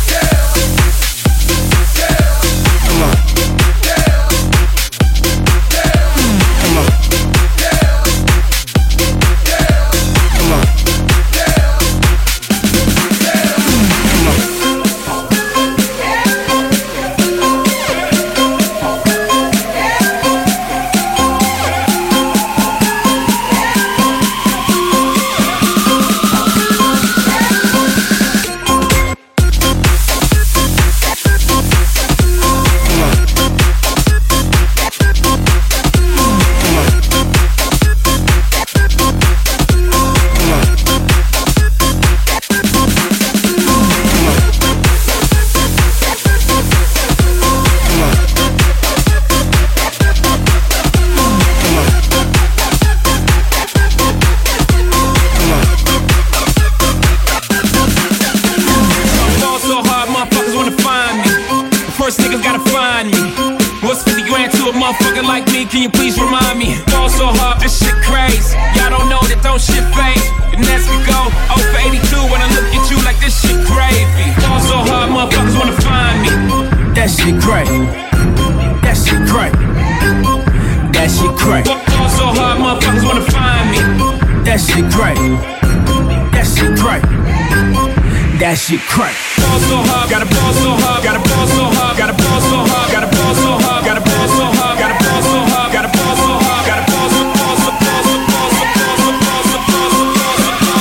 Can you please remind me? Fall so hard, this shit crazy. Y'all don't know that don't shit phase. And as we go, oh for eighty-two when I look at you like this shit gravy. Fall so hard, motherfuckers wanna find me. That shit crazy. That shit crazy. That shit crazy. Fall so hard, motherfuckers wanna find me. That shit crazy. That shit crazy. That shit crazy. Ball so hard, gotta ball so hard, gotta ball so hard, gotta ball so hard, gotta ball so hard, gotta ball so hard, gotta ball so hard, gotta ball so hard, gotta ball so ball so ball so ball so ball so ball so ball so ball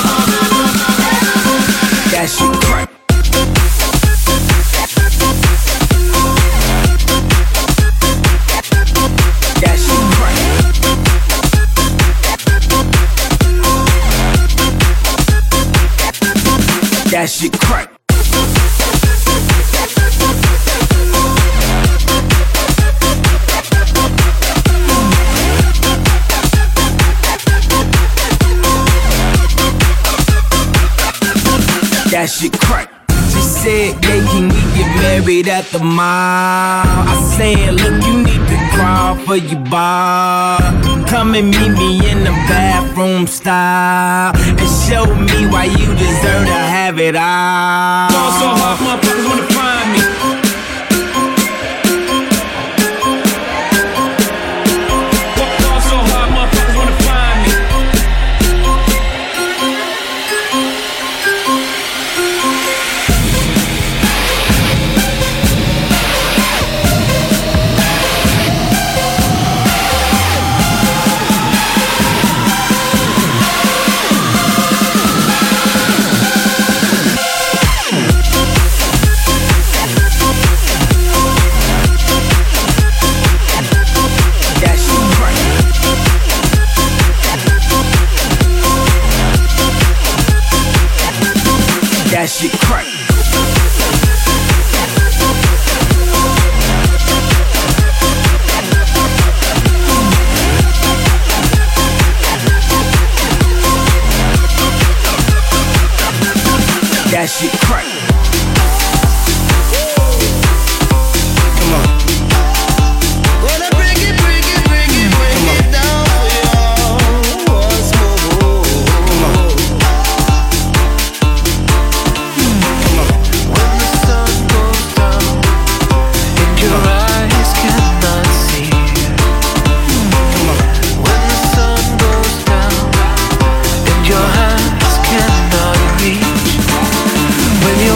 so. That shit crazy. That shit crazy. That shit crack. That shit crack. She said, yeah, can we get married at the mall? I said, look, you need to crawl for your bar. Come and meet me in the bathroom style and show me why you deserve to have it all. Fall so hard, motherfuckers wanna find me. Fall so hard, motherfuckers wanna find me. That shit crack. That shit crack. Come on. Gonna bring it, bring it, bring it, bring it down for y'all once more. Come on. When the sun goes down and your eyes cannot see. When the sun goes down and your hands cannot reach. When you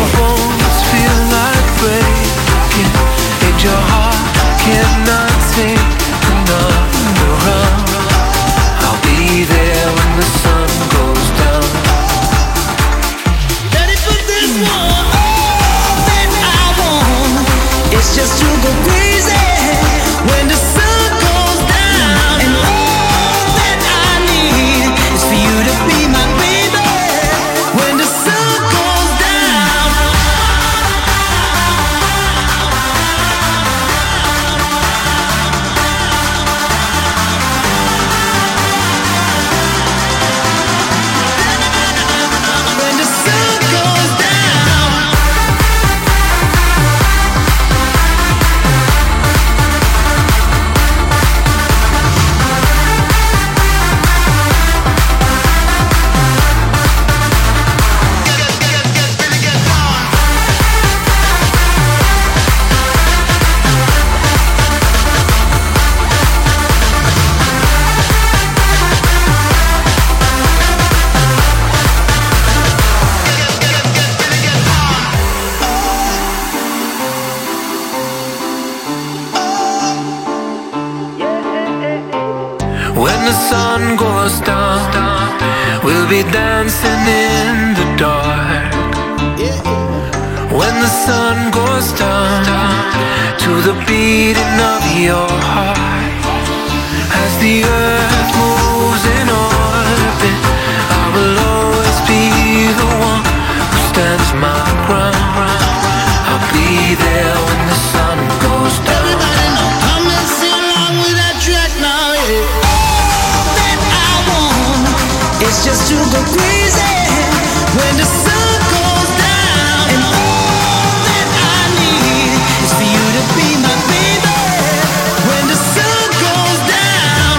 the sun goes down, we'll be dancing in the dark. When the sun goes down, to the beating of your heart. As the earth moves in orbit, I will always be the one who stands my ground. I'll be there when the sun goes down. Everybody know, come and sing along with that track now, yeah. All that I want is just to go crazy when the sun goes down. And all that I need is for you to be my baby when the sun goes down.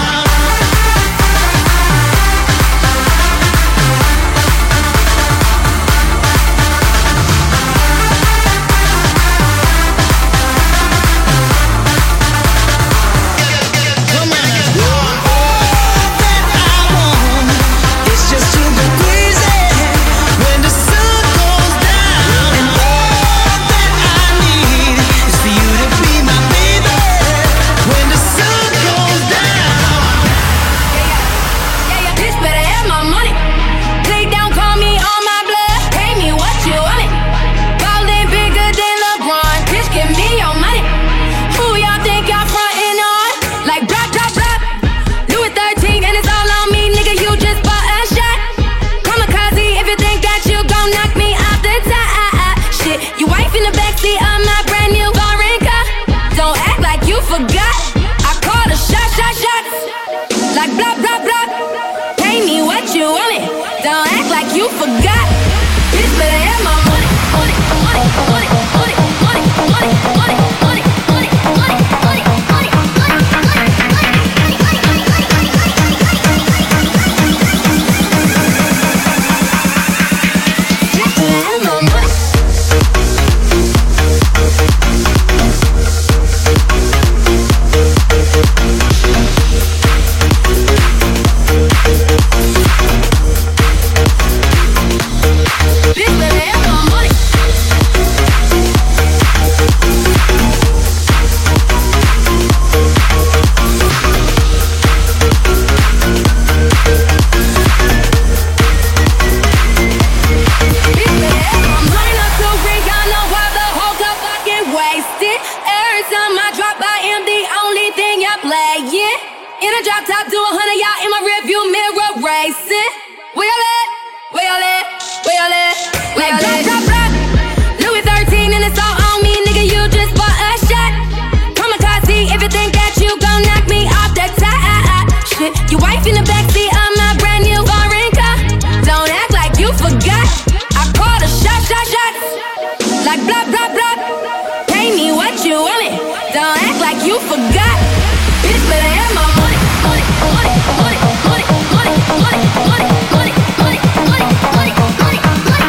Come on now. All that I want is just to go crazy when the sun goes down. And all that I need is for you to be my baby when the sun goes down. Bitch better have my money. Play down, call me on my blood. Pay me what you want it. Ballin' bigger than LeBron. Bitch, give me your money. Who y'all think y'all frontin' on? Like drop, drop, drop. Louis thirteen and it's all on me, nigga. You just bought a shot. Kamikaze if you think that you gon' knock me off the top. Shit, you wife in the backseat of my brand new foreign car. Don't act like you forgot. I called a shot, shot, shot. Like blah, blah, blah. Pay me what you want it. Don't act like you forgot. Bitch better have my money, money, money, money, money, money, money, money, money, money, money, money, money, Bitch better have my money. Running up to ring, I know why the whole cup fucking wasted. Every time I drop, I am the only thing y'all playing. In a drop top, do a hundred, y'all in my rearview mirror racing. Where y'all at? Where y'all at? Where y'all at? Where y'all at? Drop, drop, drop. Louis thirteen and it's all on me, nigga. You just bought a shot. Kamikaze if you think that you gon' knock me off the top. Shit, your wife in the backseat of my brand new foreign car. Don't act like you forgot. I called a shot, shot, shot. Like blah, blah, blah. Pay me what you want it. Don't act like you forgot. Bitch better have my money, money, money, money, money, money, money, money, money, money, money, money, money,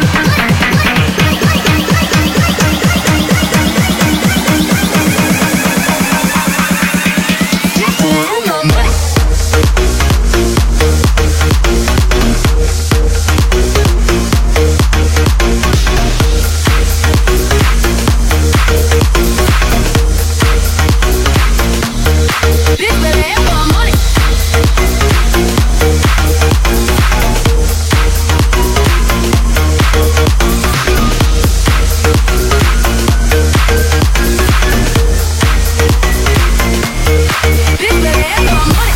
Bitch better have my money. Bitch better have my money.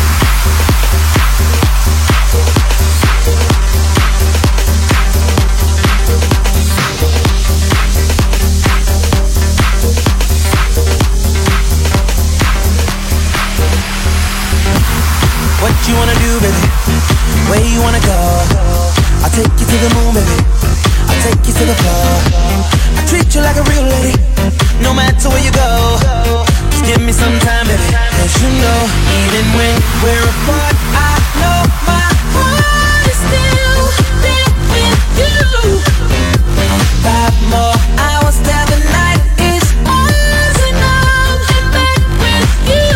What you wanna do, baby? Where you wanna go? I'll take you to the moon, baby. I'll take you to the floor. I treat you like a real lady, no matter where you go. Just give me some time, baby. Cause you know, even when we're apart, I know my heart is still there with you. Five more hours till the night is ours, and I'll get back with you.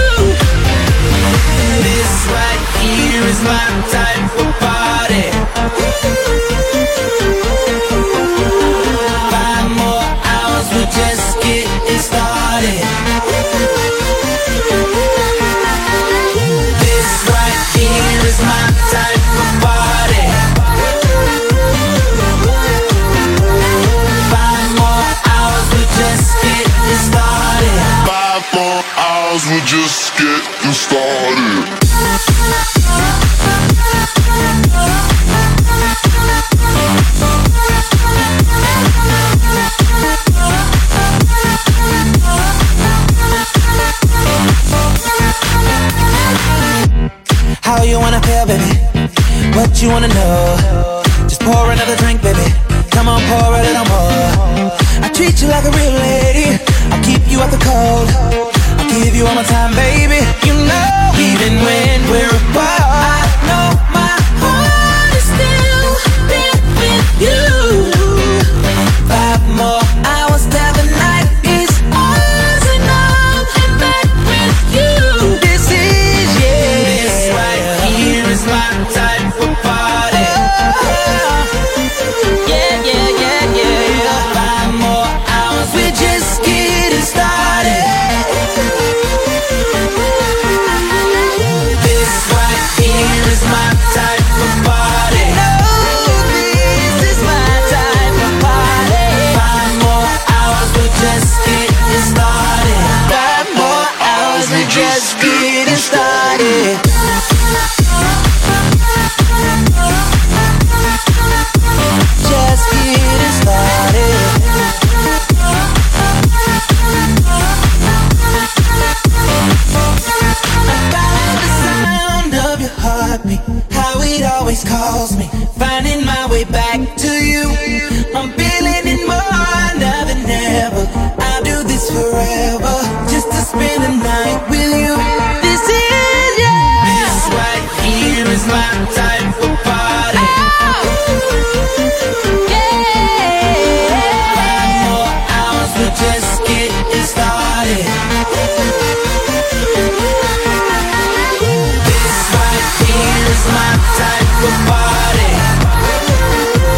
This right here is my type of party. Five more hours, we're just getting started. This right How you wanna feel, baby? What you wanna know? Just pour another drink, baby. Come on, pour a little more. I treat you like a real lady. I'll keep you out the cold. I'll give you all my time, baby. You know, even when we're apart, I know my heart is still there with you. Five more hours till the night is ours, and I'm in bed with you. This is, yeah, this right here is my type of party. Yeah, yeah, yeah, yeah. Five more hours, we're just getting started. This right here is my type of party. No, this is my type of party. Five more hours, we're just getting started. Five more hours, we're just getting started. Just getting started. I the sound of your heartbeat, how it always calls me, finding my way back to you. I'm feeling it more now than ever. I'll do this forever, just to spend the night with you. This is, yeah, this right here is my type of party. Just getting started. This right here is my type of party.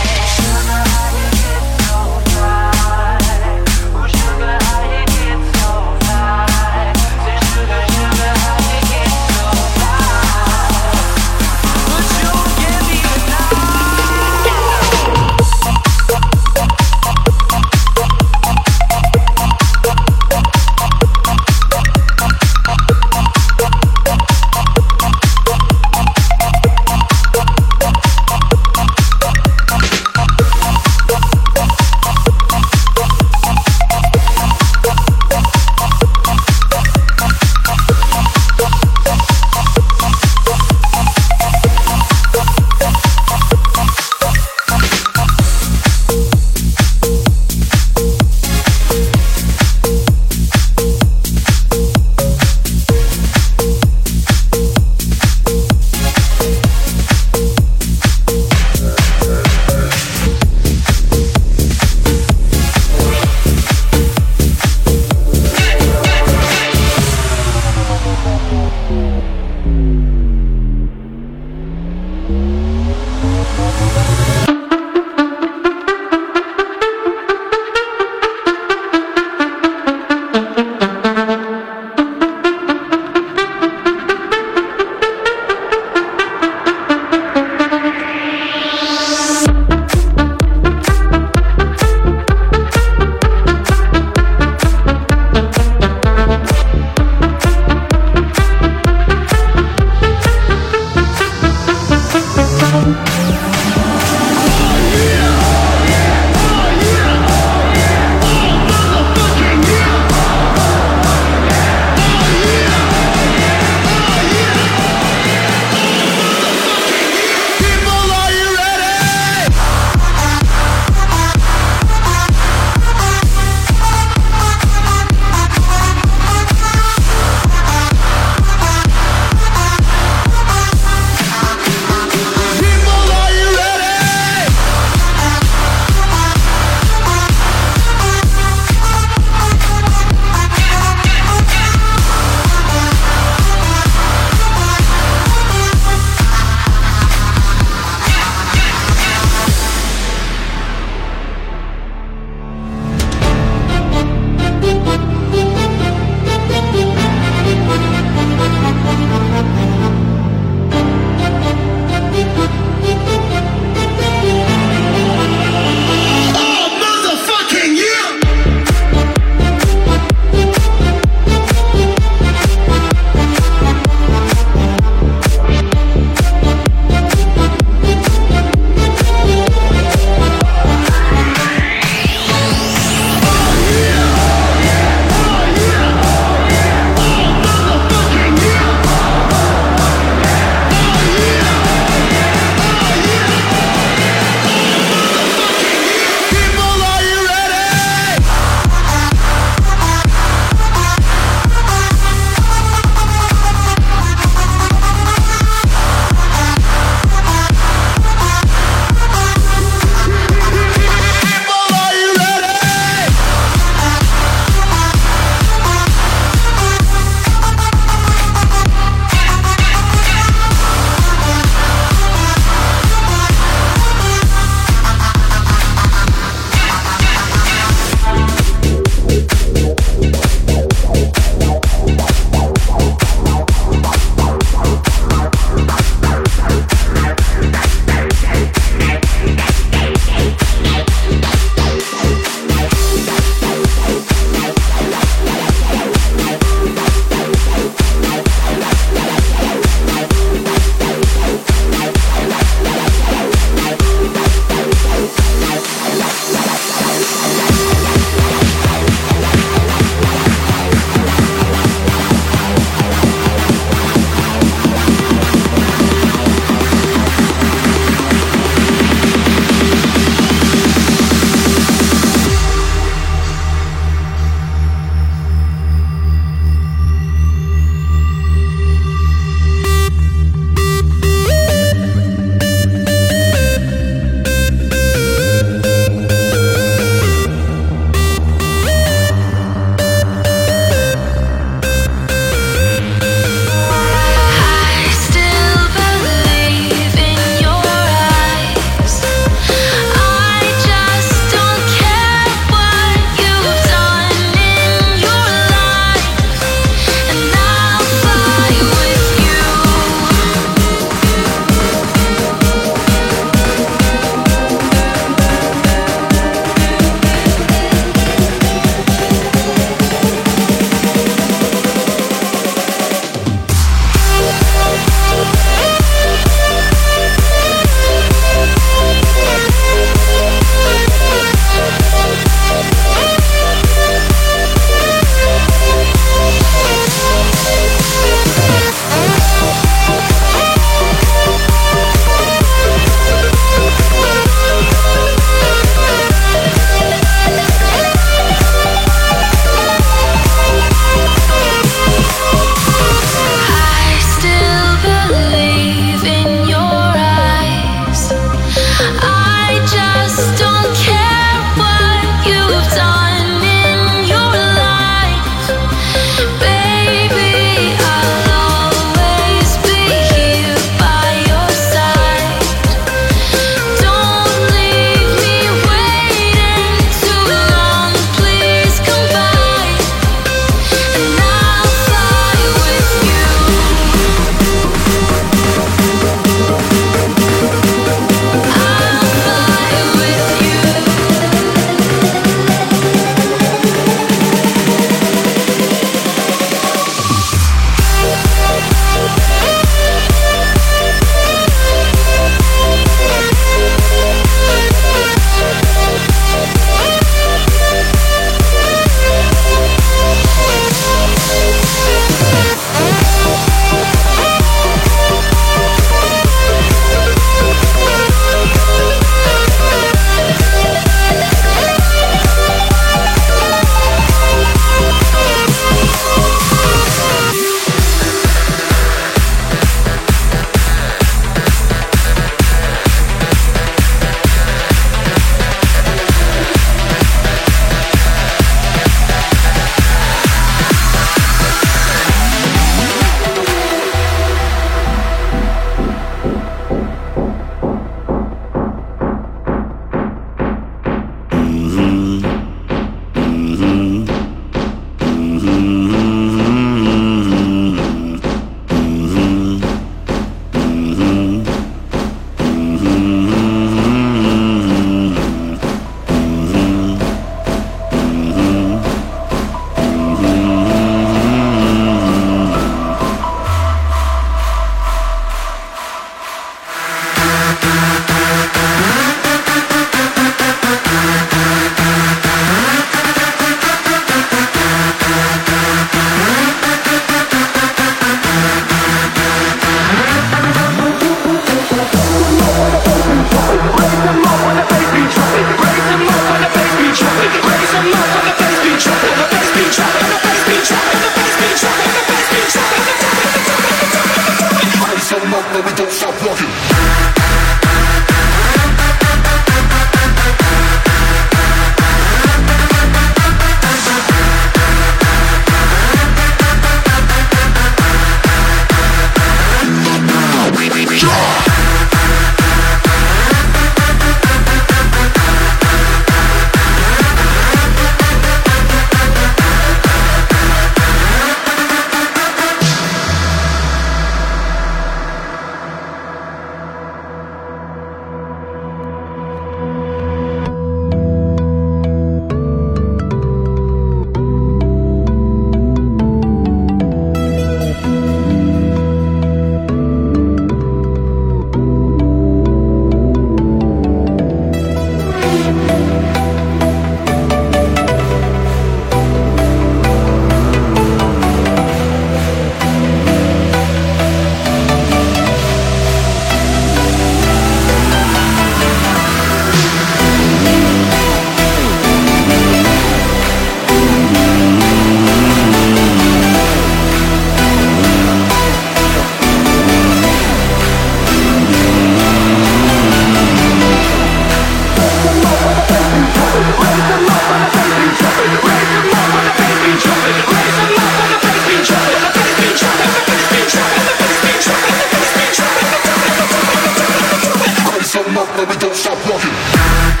don't stop rocking.